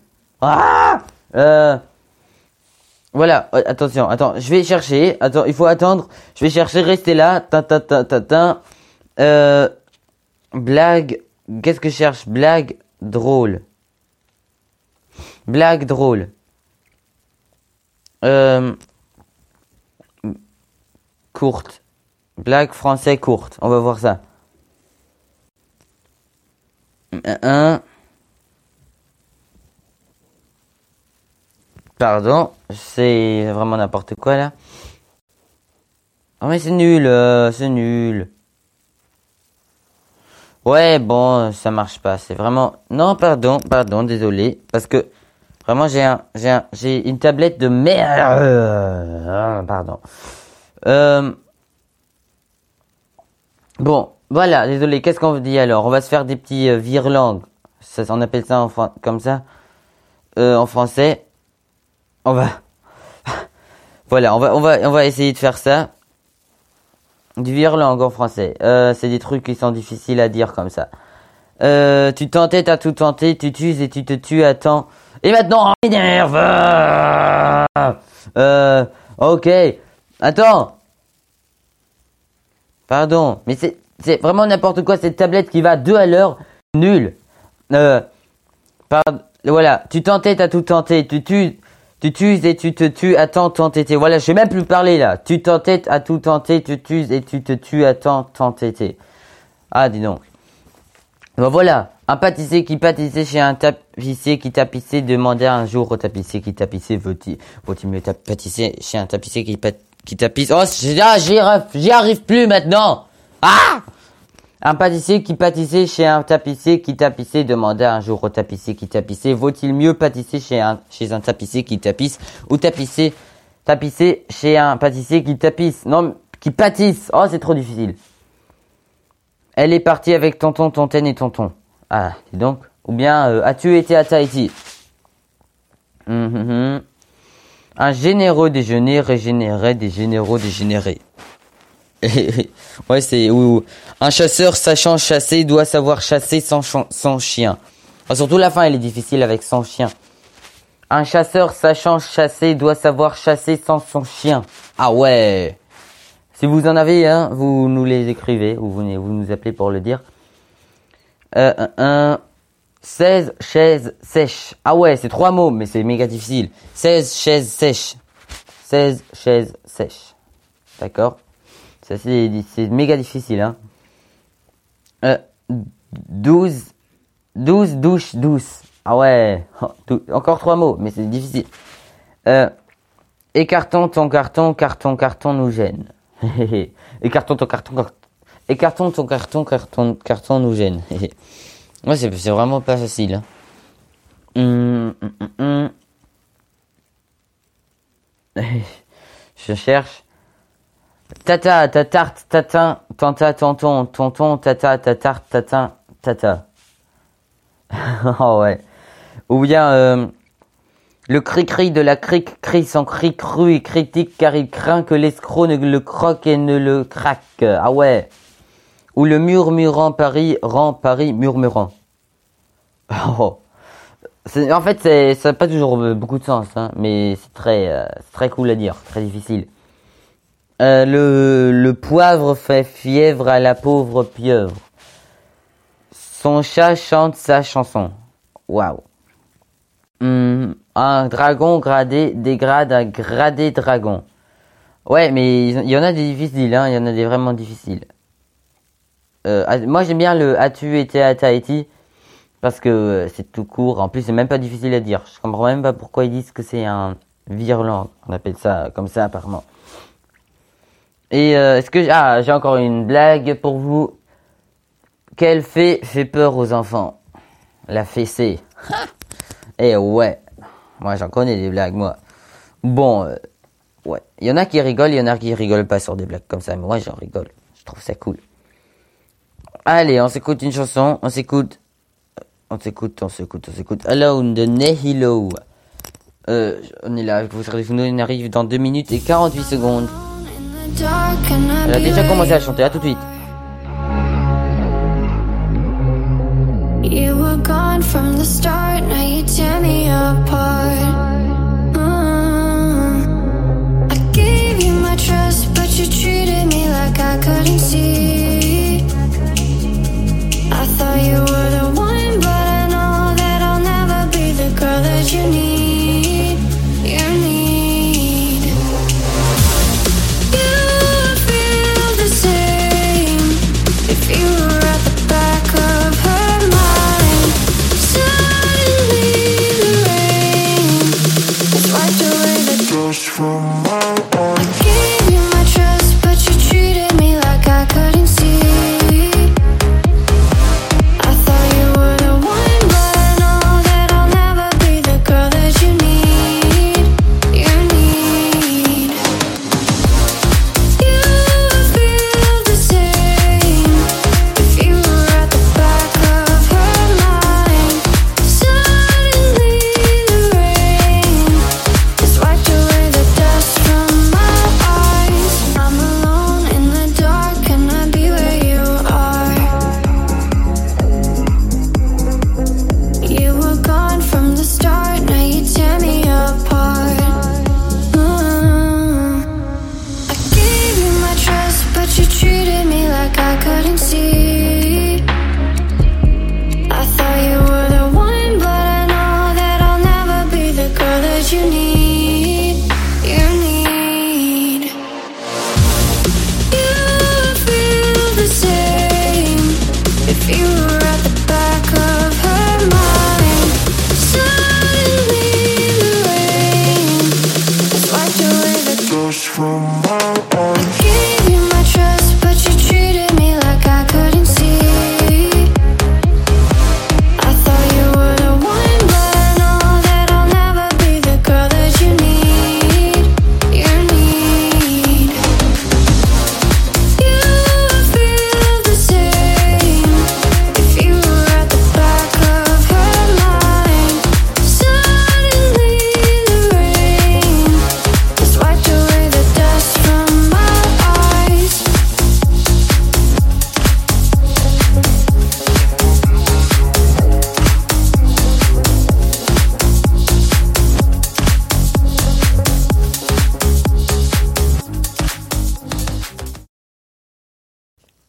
Voilà, attention, je vais chercher. Attends, il faut attendre. Je vais chercher, restez là. Blague. Qu'est-ce que je cherche? Blague drôle. Blague drôle. Courte. Blague français courte. On va voir ça. Pardon, c'est vraiment n'importe quoi là. Oh mais c'est nul, c'est nul. Ouais, bon, ça marche pas, c'est vraiment... Non, pardon, désolé, parce que vraiment j'ai une tablette de merde. Pardon. Bon, voilà, désolé, qu'est-ce qu'on dit alors? On va se faire des petits virelangues. Ça, on appelle ça comme ça. En français. On va... Voilà, on va essayer de faire ça. Du virelangue en français. C'est des trucs qui sont difficiles à dire comme ça. Tu t'entêtes à tout tenter, tu tues et tu te tues à temps. Et maintenant, on m'énerve. Ok. Attends. Pardon, mais c'est vraiment n'importe quoi cette tablette qui va 2 à l'heure. Nul. Voilà, tu t'entêtes à tout tenter, tu tues et tu te tues à tant t'entêter. Voilà, je sais même plus parler là. Tu t'entêtes à tout tenter, tu tues et tu te tues à tant t'entêter. Ah, dis donc. Ben voilà, un pâtissier qui pâtissait chez un tapissier qui tapissait demandait un jour au tapissier qui tapissait faut-il mieux pâtisser chez un tapissier qui tapisse. Oh, j'y arrive plus maintenant. Ah! Un pâtissier qui pâtissait chez un tapissier qui tapissait demandait un jour au tapissier qui tapissait vaut-il mieux pâtisser chez un tapissier qui tapisse ou tapisser chez un pâtissier qui tapisse? Non, qui pâtisse. Oh, c'est trop difficile. Elle est partie avec tonton, tontaine et tonton. Ah, dis donc. Ou bien, as-tu été à Tahiti? Un généreux déjeuner régénérait des généraux dégénérés. Ouais, c'est... Oui. Un chasseur sachant chasser doit savoir chasser sans chien. Enfin, surtout la fin, elle est difficile avec son chien. Un chasseur sachant chasser doit savoir chasser sans son chien. Ah ouais. Si vous en avez, hein, vous nous les écrivez ou vous nous appelez pour le dire. 16 chaises sèches. Ah ouais, c'est 3 mots, mais c'est méga difficile. 16 chaises sèches. 16 chaises sèches. D'accord? Ça, c'est méga difficile, hein. 12 douches douces. Ah ouais. Encore 3 mots, mais c'est difficile. Écartons ton carton nous gêne. Écartons ton carton nous gêne. Ouais, c'est vraiment pas facile, hein. Je cherche. Tata, ta tarte, tatin, tanta, tonton, tata, ta tarte, tatin, tata. Oh ouais. Ou bien, le cri-cri de la crique crie son cri cru et critique car il craint que l'escroc ne le croque et ne le craque. Ah ouais. Ou le murmurant Paris rend Paris murmurant. Oh. En fait, ça n'a pas toujours beaucoup de sens, hein, mais c'est très cool à dire, très difficile. Le poivre fait fièvre à la pauvre pieuvre. Son chat chante sa chanson. Waouh. Un dragon gradé dégrade un gradé dragon. Ouais, mais il y en a des difficiles, hein, il y en a des vraiment difficiles. Moi j'aime bien le as-tu été à Tahiti parce que c'est tout court. En plus, c'est même pas difficile à dire. Je comprends même pas pourquoi ils disent que c'est un virelangue. On appelle ça comme ça apparemment. Et est-ce que j'ai encore une blague pour vous. Quelle fée fait peur aux enfants? La fessée. Eh ouais. Moi j'en connais des blagues moi. Bon, ouais. Il y en a qui rigolent, il y en a qui rigolent pas sur des blagues comme ça, mais moi j'en rigole. Je trouve ça cool. Allez, on s'écoute une chanson, on s'écoute. Alone de Nehilo. On est là avec vous sur les Funo, on arrive dans 2 minutes et 48 secondes. Elle a déjà commencé à chanter, à tout de suite. You were gone from the start, now you tear me apart. I gave you my trust, but you treated me like I couldn't see.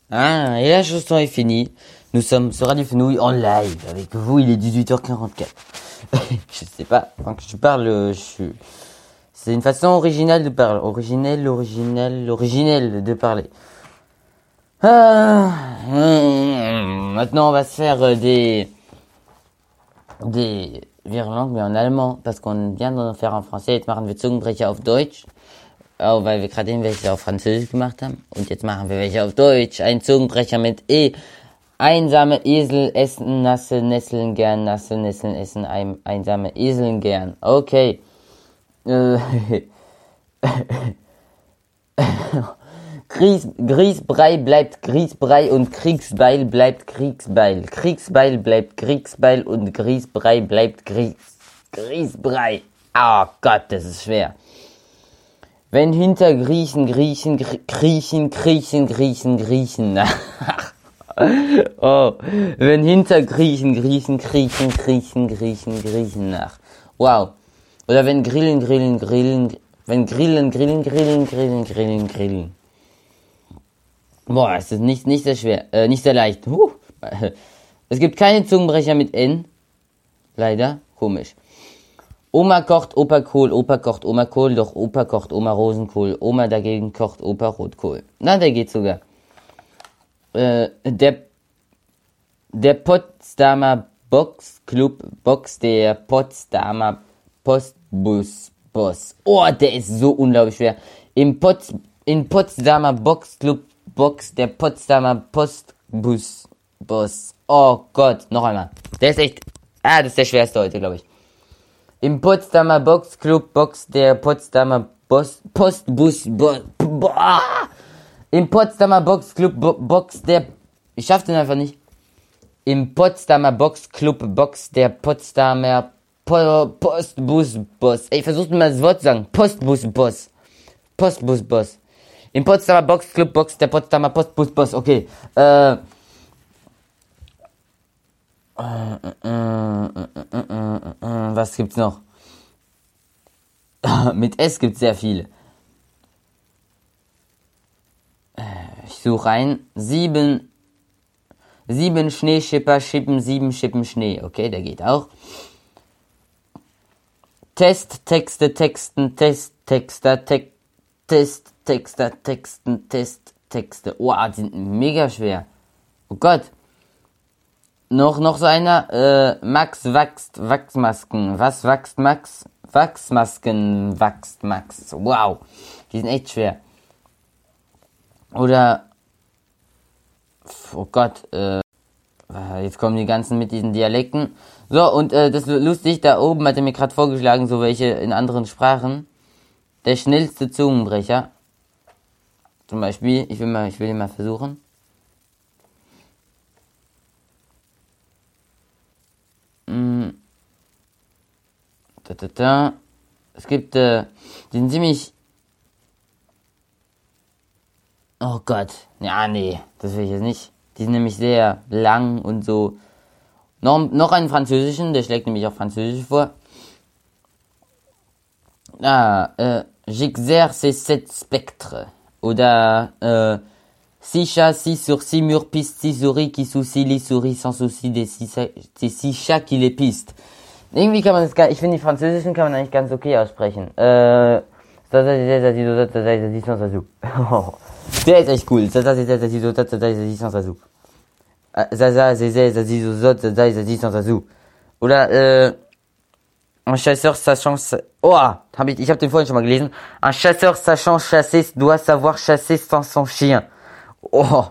Ah, et la chanson est finie. Nous sommes sur Radio Fenouil en live avec vous. Il est 18h44. Je sais pas. Quand je parle, c'est une façon originale de parler. Originelle de parler. Maintenant, on va se faire des Virlangues, mais en allemand, parce qu'on vient d'en faire en français. Jetzt machen wir Zungenbrecher auf Deutsch. Oh, weil wir gerade eben welche auf Französisch gemacht haben. Und jetzt machen wir welche auf Deutsch. Ein Zungenbrecher mit E. Einsame Esel essen nasse Nesseln gern. Nasse Nesseln essen einsame Eseln gern. Okay. Grießbrei bleibt Grießbrei und Kriegsbeil bleibt Kriegsbeil. Kriegsbeil bleibt Kriegsbeil und Grießbrei bleibt Grießbrei. Oh Gott, das ist schwer. Wenn hinter Griechen. Oh, wenn hinter Griechen nach. Wow. Oder wenn Grillen. Wenn Grillen. Boah, es ist nicht sehr schwer, nicht sehr leicht. Es gibt keine Zungenbrecher mit N. Leider, komisch. Oma kocht, Opa Kohl, Opa kocht, Oma Kohl, doch Opa kocht, Oma Rosenkohl. Oma dagegen kocht, Opa Rotkohl. Na, der geht sogar. Der Potsdamer Boxclub boxt der Potsdamer Postbus-Boss. Oh, der ist so unglaublich schwer. In Potsdamer Boxclub boxt der Potsdamer Postbus-Boss. Oh Gott, noch einmal. Der ist echt... das ist der schwerste heute, glaube ich. Im Potsdamer Boxclub boxt der Potsdamer Postbus-Boss. Im Potsdamer Boxclub boxt der... Ich schaff den einfach nicht. Im Potsdamer Boxclub boxt der Potsdamer Postbus-Boss. Ey, versucht mal das Wort zu sagen. Postbus-Boss. Postbus-Boss. Im Potsdamer Boxclub boxt der Potsdamer Postbus-Boss. Okay. Was gibt's noch? Mit S gibt's sehr viele. Ich suche ein. 7 Schneeschipper schippen 7 Schippen Schnee. Okay, der geht auch. Texte, Texten, Texter, Texte. Oh, die sind mega schwer. Oh Gott. Noch so einer. Max wächst Wachsmasken. Was wächst Max? Wachsmasken wächst Max. Wow. Die sind echt schwer. Oder... Oh Gott. Jetzt kommen die ganzen mit diesen Dialekten. So, und das ist lustig. Da oben hat er mir gerade vorgeschlagen, so welche in anderen Sprachen. Der schnellste Zungenbrecher. Zum Beispiel, ich will ihn mal versuchen. Es gibt, die sind ziemlich... Oh Gott. Ja, nee, das will ich jetzt nicht. Die sind nämlich sehr lang und so. Noch einen französischen, der schlägt nämlich auch Französisch vor. J'exerce cette spectre. Oder, 6 chats, 6 sur 6 murs, piste, 6 souris qui soucient les souris sans souci des 6 chats qui les pistent. Irgendwie kann man das ich finde die französischen kann man eigentlich ganz okay aussprechen. Der ist echt cool. Oder, un chasseur sachant... ich habe den vorhin schon mal gelesen. Un chasseur sachant chasser doit savoir chasser sans son chien. Oh.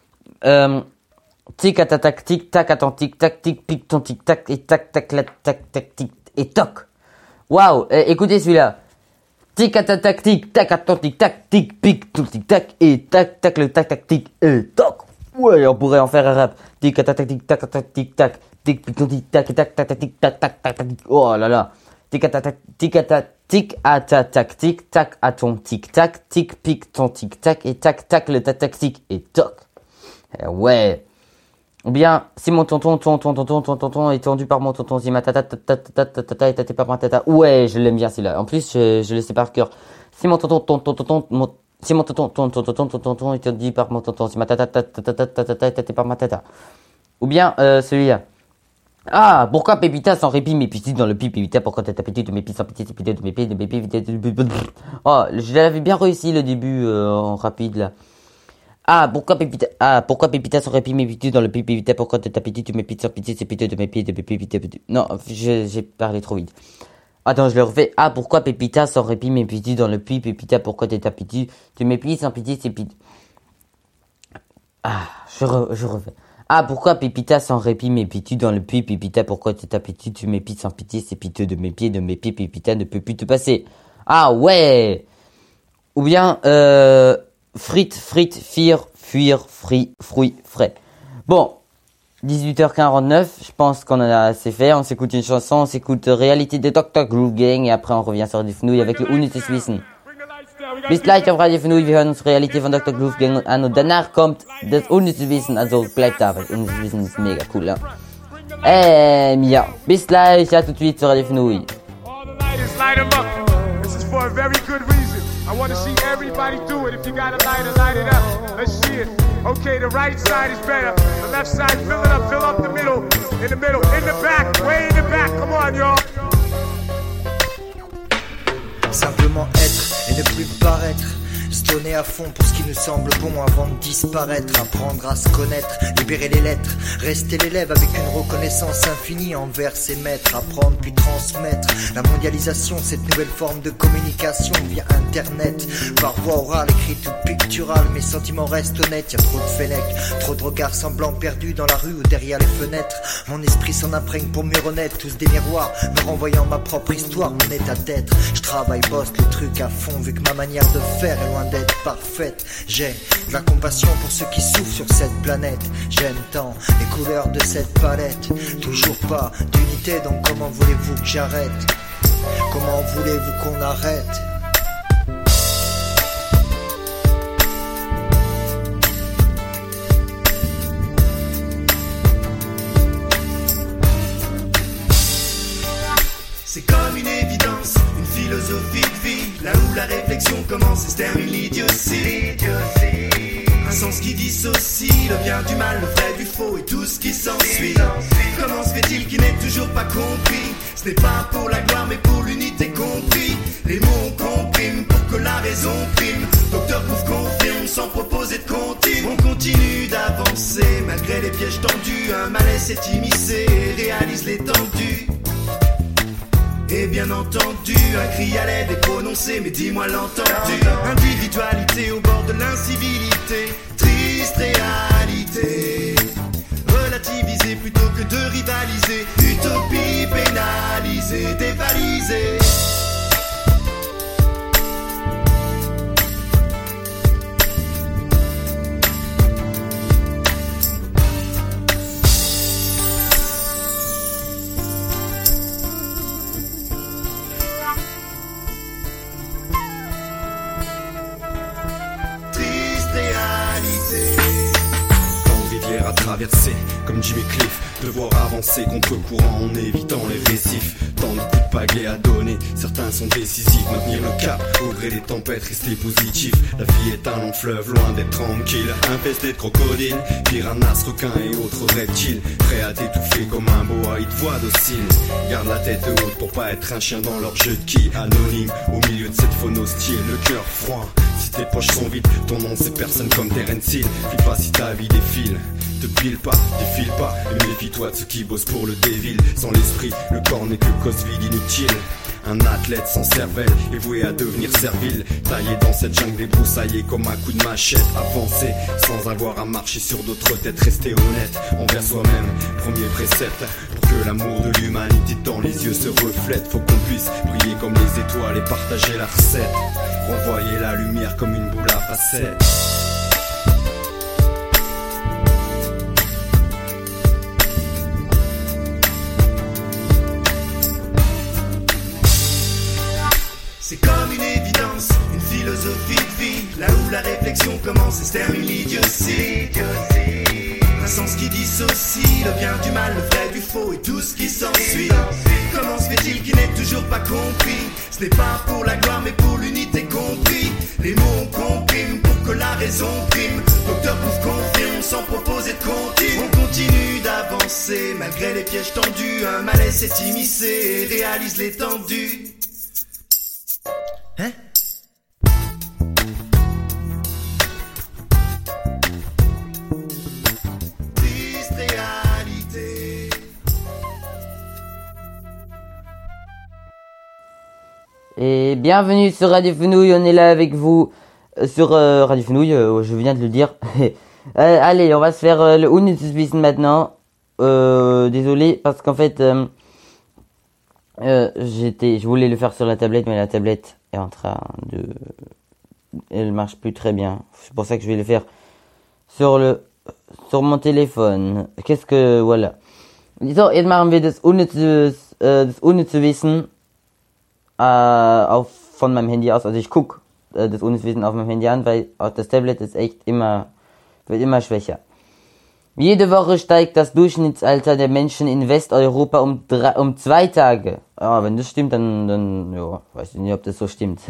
Tic à tac tic tac à ton tic tac tic pique ton tic tac et tac tac la tac tac tic et toc. Waouh, écoutez celui-là. Tic à tac tic tac à ton tic tac tic pique ton tic tac et tac tac le tac tac tic et toc. Ouais, on pourrait en faire un rap. Tic à tac tic tac à ton tic tac tic pique ton tic tac et tac tac tac tic tac tac tac tac. Oh là là. Tic à tac tic à ta tac tic tac à ton tic tac tic pique ton tic tac et tac tac le tac tac tic et toc. Ouais. Ou bien, si mon tonton est tendu par mon tonton, si ma tata est tâtée par ma tata. Ouais, je l'aime bien celui-là. En plus, je le sais par cœur. Si mon tonton C'est mon tonton est dit par mon tonton. C'est ma tata par ma tata. Ou bien celui-là. Ah, pourquoi Pépita sans répit mes petits dans le pied Pépita, pourquoi t'as tapé de mes pieds sans pitié, c'est pitié de mes pieds, Oh, je l'avais bien réussi le début en rapide là. Ah, pourquoi Pépita sans répit mes petits dans le pied Pépita, pourquoi t'as tapé de mes pieds sans pitié, c'est pitié de mes pieds, Non, j'ai parlé trop vite. Attends, je le refais. Ah, pourquoi Pépita sans répit mes petits dans le puits Pépita, pourquoi t'as tapé de mes pieds sans pitié, c'est pitié. Ah, je refais. Ah, pourquoi Pépita sans répit m'épie-tu dans le puits Pépita, pourquoi t'es tapé-tu, tu m'épies sans pitié, c'est piteux de mes pieds, Pépita ne peut plus te passer. Ah ouais. Ou bien, frites, fuir, fruits, frais. Bon, 18h49, je pense qu'on en a assez fait, on s'écoute une chanson, on s'écoute Réalité de Dr. Groove Gang et après on revient sur die Fnouille avec le Unnützes Wissen. Bis gleich auf Radio Fnouille, wir hören uns Realität von Dr. Groove Gang an und danach kommt das Unnützes Wissen, also bleibt da, weil Unnützes Wissen ist mega cool, ja. Ja, bis gleich, à tout de suite sur Radio Fnouille. This is for a very good reason. I want to see everybody do it. If you got a lighter, light it up. Let's see it. Okay, the right side is better. The left side, fill up the middle. In the middle, in the back, way in the back. Come on, y'all. Simplement être et ne plus paraître. Se donner à fond pour ce qui nous semble bon avant de disparaître. Apprendre à se connaître, libérer les lettres, rester l'élève avec une reconnaissance infinie envers ses maîtres. Apprendre puis transmettre la mondialisation, cette nouvelle forme de communication via internet. Par voie orale, écrite ou picturale, mes sentiments restent honnêtes. Y'a trop de fenêtres, trop de regards semblants perdus dans la rue ou derrière les fenêtres. Mon esprit s'en imprègne pour mieux renaître, tous des miroirs me renvoyant ma propre histoire, mon état d'être. Je travaille, bosse le truc à fond vu que ma manière de faire est loin d'être parfaite. J'ai de la compassion pour ceux qui souffrent sur cette planète. J'aime tant les couleurs de cette palette. Toujours pas d'unité, donc comment voulez-vous que j'arrête? Comment voulez-vous qu'on arrête? C'est comme une évidence, une philosophie de vie. Là où la réflexion commence et se termine l'idiotie. Un sens qui dissocie le bien du mal, le vrai du faux et tout ce qui s'ensuit. Comment se fait-il qu'il n'ait toujours pas compris? Ce n'est pas pour la gloire mais pour l'unité compris. Les mots compriment pour que la raison prime. Docteur Groove confirme sans proposer de comptine. On continue d'avancer malgré les pièges tendus. Un malaise s'est immiscé et réalise l'étendue. Et bien entendu, un cri à l'aide est prononcé, mais dis-moi l'entendu. Individualité au bord de l'incivilité, triste réalité. Relativiser plutôt que de rivaliser, utopie pénalisée, dévalisée. À traverser comme Jimmy Cliff, devoir avancer contre courant en évitant les récifs. Tant de coups de pagaie à donner, certains sont décisifs. Maintenir le cap au gré des tempêtes, rester positif. La vie est un long fleuve loin d'être tranquille, infesté de crocodiles, piranhas, requins et autres reptiles. Prêt à t'étouffer comme un boa, ils te voient docile. Garde la tête haute pour pas être un chien dans leur jeu de qui. Anonyme au milieu de cette faune hostile, le cœur froid. Si tes poches sont vides, ton nom c'est personne comme Terence Hill. File pas si ta vie défile. Te pile pas, défile pas, et méfie-toi de ceux qui bossent pour le dévil. Sans l'esprit, le corps n'est que cause vide inutile. Un athlète sans cervelle est voué à devenir servile. Taillé dans cette jungle débroussaillée comme un coup de machette. Avancer sans avoir à marcher sur d'autres têtes. Rester honnête envers soi-même, premier précepte. Pour que l'amour de l'humanité dans les yeux se reflète, faut qu'on puisse briller comme les étoiles et partager la recette. Renvoyer la lumière comme une boule à facettes. C'est comme une évidence, une philosophie de vie. Là où la réflexion commence et se termine l'idiotie. Un sens qui dissocie le bien du mal, le vrai du faux et tout ce qui s'ensuit. Comment se fait-il qu'il n'ait toujours pas compris? Ce n'est pas pour la gloire mais pour l'unité compris. Les mots ont compris raison prime. Docteur Bouffe confirme sans proposer de comptine. On continue d'avancer malgré les pièges tendus. Un malaise s'est immiscé et réalise l'étendue. Hein? Triste réalité. Et bienvenue sur Radio Fenouil, on est là avec vous sur Radio Fenouil, je viens de le dire. Allez, on va se faire le Unnützes Wissen maintenant. Désolé, parce qu'en fait, je voulais le faire sur la tablette, mais la tablette est en train de... Elle marche plus très bien. C'est pour ça que je vais le faire sur mon téléphone. Voilà. So, jetzt machen wir das unnütze Wissen von meinem Handy aus. Also ich gucke das unnütze Wissen auf meinem Handy an, weil auch das Tablet ist wird immer schwächer. Jede Woche steigt das Durchschnittsalter der Menschen in Westeuropa um 2 Tage. Ja, wenn das stimmt, dann ja, weiß ich nicht, ob das so stimmt.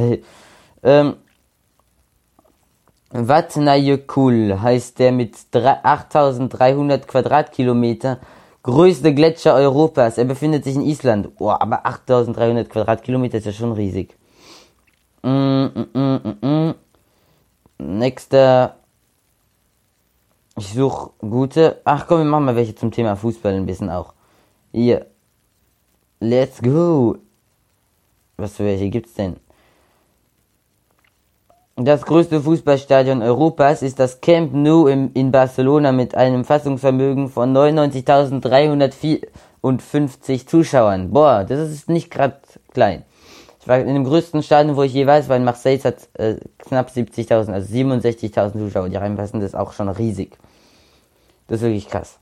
Vatnajökull heißt der mit 8300 Quadratkilometer größte Gletscher Europas. Er befindet sich in Island. Boah, aber 8300 Quadratkilometer ist ja schon riesig. Nächster. Ich suche gute. Ach komm, wir machen mal welche zum Thema Fußball ein bisschen auch. Hier. Let's go. Was für welche gibt's denn? Das größte Fußballstadion Europas ist das Camp Nou in Barcelona mit einem Fassungsvermögen von 99.354 Zuschauern. Boah, das ist nicht gerade klein. Ich war in dem größten Stadion, wo ich je war, in Marseille, es hat knapp 70.000, also 67.000 Zuschauer, die reinpassen. Das ist auch schon riesig. Das ist wirklich krass.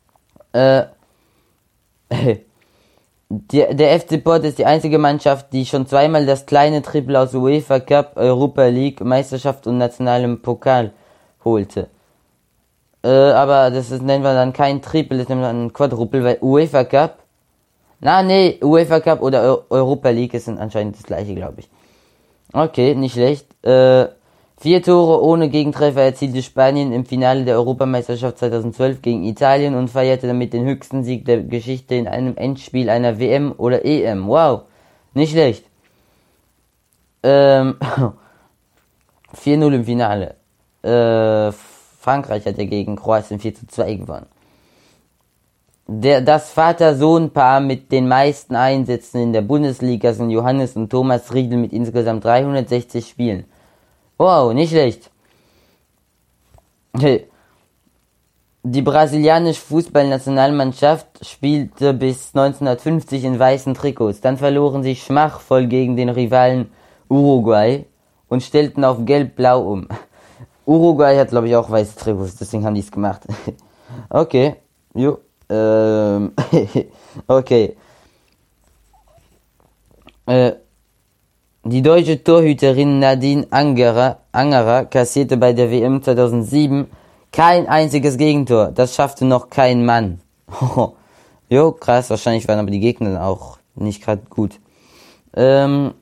Der FC Porto ist die einzige Mannschaft, die schon zweimal das kleine Triple aus UEFA Cup, Europa League, Meisterschaft und nationalem Pokal holte. Aber das nennen wir dann kein Triple, das nennen wir dann ein Quadruple, weil UEFA Cup, UEFA Cup oder Europa League sind anscheinend das gleiche, glaube ich. Okay, nicht schlecht. 4 Tore ohne Gegentreffer erzielte Spanien im Finale der Europameisterschaft 2012 gegen Italien und feierte damit den höchsten Sieg der Geschichte in einem Endspiel einer WM oder EM. Wow, nicht schlecht. 4-0 im Finale. Frankreich hat ja gegen Kroatien 4-2 gewonnen. Das Vater-Sohn-Paar mit den meisten Einsätzen in der Bundesliga sind Johannes und Thomas Riedl mit insgesamt 360 Spielen. Wow, nicht schlecht. Die brasilianische Fußballnationalmannschaft spielte bis 1950 in weißen Trikots. Dann verloren sie schmachvoll gegen den Rivalen Uruguay und stellten auf gelb-blau um. Uruguay hat, glaube ich, auch weiße Trikots, deswegen haben die es gemacht. Okay, jo. Okay. Die deutsche Torhüterin Nadine Angerer kassierte bei der WM 2007 kein einziges Gegentor. Das schaffte noch kein Mann. Jo, krass, wahrscheinlich waren aber die Gegner auch nicht gerade gut. Der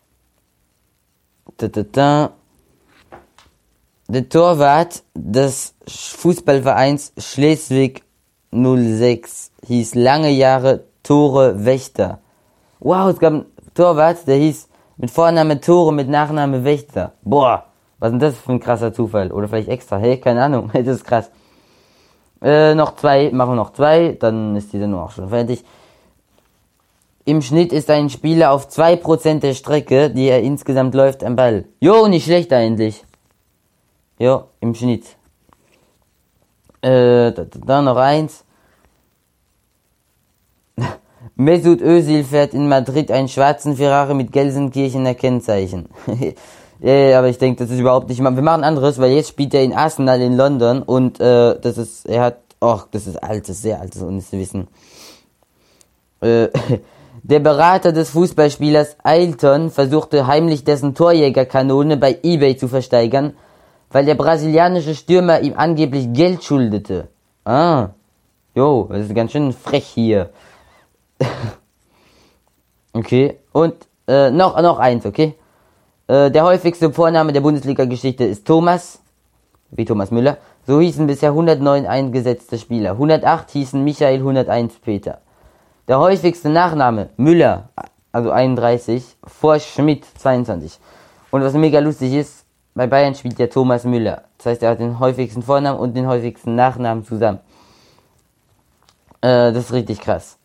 Torwart des Fußballvereins Schleswig 06 hieß lange Jahre Tore Wächter. Wow, es gab einen Torwart, der hieß mit Vorname Tore, mit Nachname Wächter. Boah, was ist denn das für ein krasser Zufall? Oder vielleicht extra, hey, keine Ahnung, das ist krass. Machen wir noch zwei, dann ist die Sendung auch schon fertig. Im Schnitt ist ein Spieler auf 2% der Strecke, die er insgesamt läuft, am Ball. Jo, nicht schlecht eigentlich. Jo, im Schnitt. Dann noch eins. Mesut Özil fährt in Madrid einen schwarzen Ferrari mit Gelsenkirchener Kennzeichen. Aber ich denke, das ist überhaupt nicht mal. Wir machen anderes, weil jetzt spielt er in Arsenal in London und das ist sehr altes Unwissen. Der Berater des Fußballspielers Ailton versuchte heimlich dessen Torjägerkanone bei eBay zu versteigern, weil der brasilianische Stürmer ihm angeblich Geld schuldete. Das ist ganz schön frech hier. Okay, und noch eins, okay? Der häufigste Vorname der Bundesliga-Geschichte ist Thomas. wie Thomas Müller. So hießen bisher 109 eingesetzte Spieler. 108 hießen Michael, 101 Peter. Der häufigste Nachname Müller, also 31, vor Schmidt 22. Und was mega lustig ist, bei Bayern spielt ja Thomas Müller. Das heißt, er hat den häufigsten Vornamen und den häufigsten Nachnamen zusammen. Das ist richtig krass.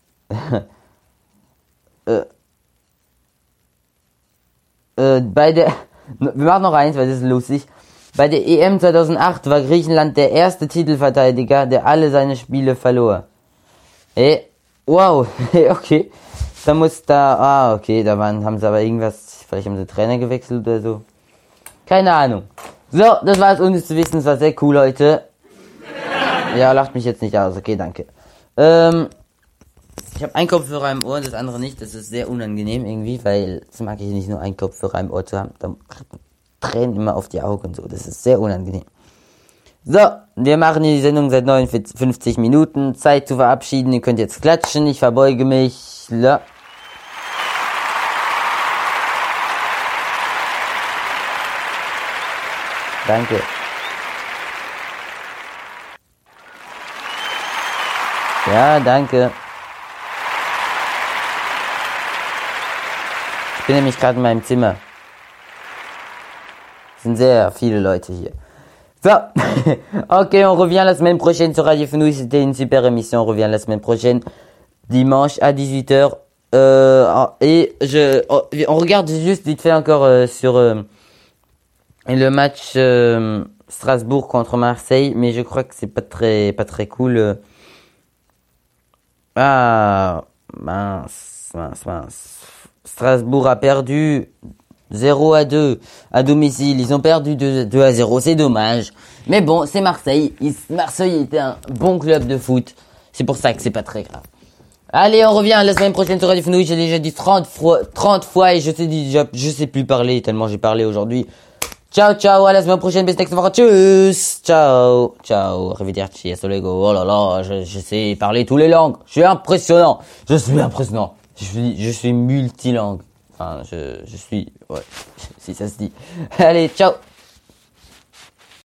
Wir machen noch eins, weil das ist lustig. Bei der EM 2008 war Griechenland der erste Titelverteidiger, der alle seine Spiele verlor. Wow, okay. Okay, haben sie aber irgendwas, vielleicht haben sie Trainer gewechselt oder so. Keine Ahnung. So, das war es uns zu wissen, es war sehr cool heute. Ja, lacht mich jetzt nicht aus, okay, danke. Ich habe einen Kopfhörer im Ohr und das andere nicht, das ist sehr unangenehm irgendwie, weil das mag ich nicht, nur einen Kopfhörer im Ohr zu haben. Da Tränen immer auf die Augen und so, das ist sehr unangenehm. So, wir machen die Sendung seit 59 Minuten, Zeit zu verabschieden, ihr könnt jetzt klatschen, ich verbeuge mich. Ja. Danke. Ja, danke. Ich bin nämlich gerade in meinem Zimmer. Es sind sehr viele Leute hier. So, ok, on revient la semaine prochaine sur Radio Fenouil. C'était une super émission. On revient la semaine prochaine, dimanche à 18h. On regarde juste vite fait encore sur le match Strasbourg contre Marseille, mais je crois que c'est pas très cool. Mince. Strasbourg a perdu 0-2 à domicile. Ils ont perdu 2-0. C'est dommage. Mais bon, c'est Marseille. Marseille était un bon club de foot. C'est pour ça que c'est pas très grave. Allez, on revient la semaine prochaine sur Radio Fenouil. J'ai déjà dit 30 fois et je sais plus parler tellement j'ai parlé aujourd'hui. Ciao, ciao, à la semaine prochaine, bis nächste Woche. Tschüss. Ciao, ciao. Arrivederci, hasta luego. Oh là là, je sais parler toutes les langues. Je suis impressionnant. Je suis multilangue. Enfin, je suis, ouais, si ça se dit. Allez, ciao.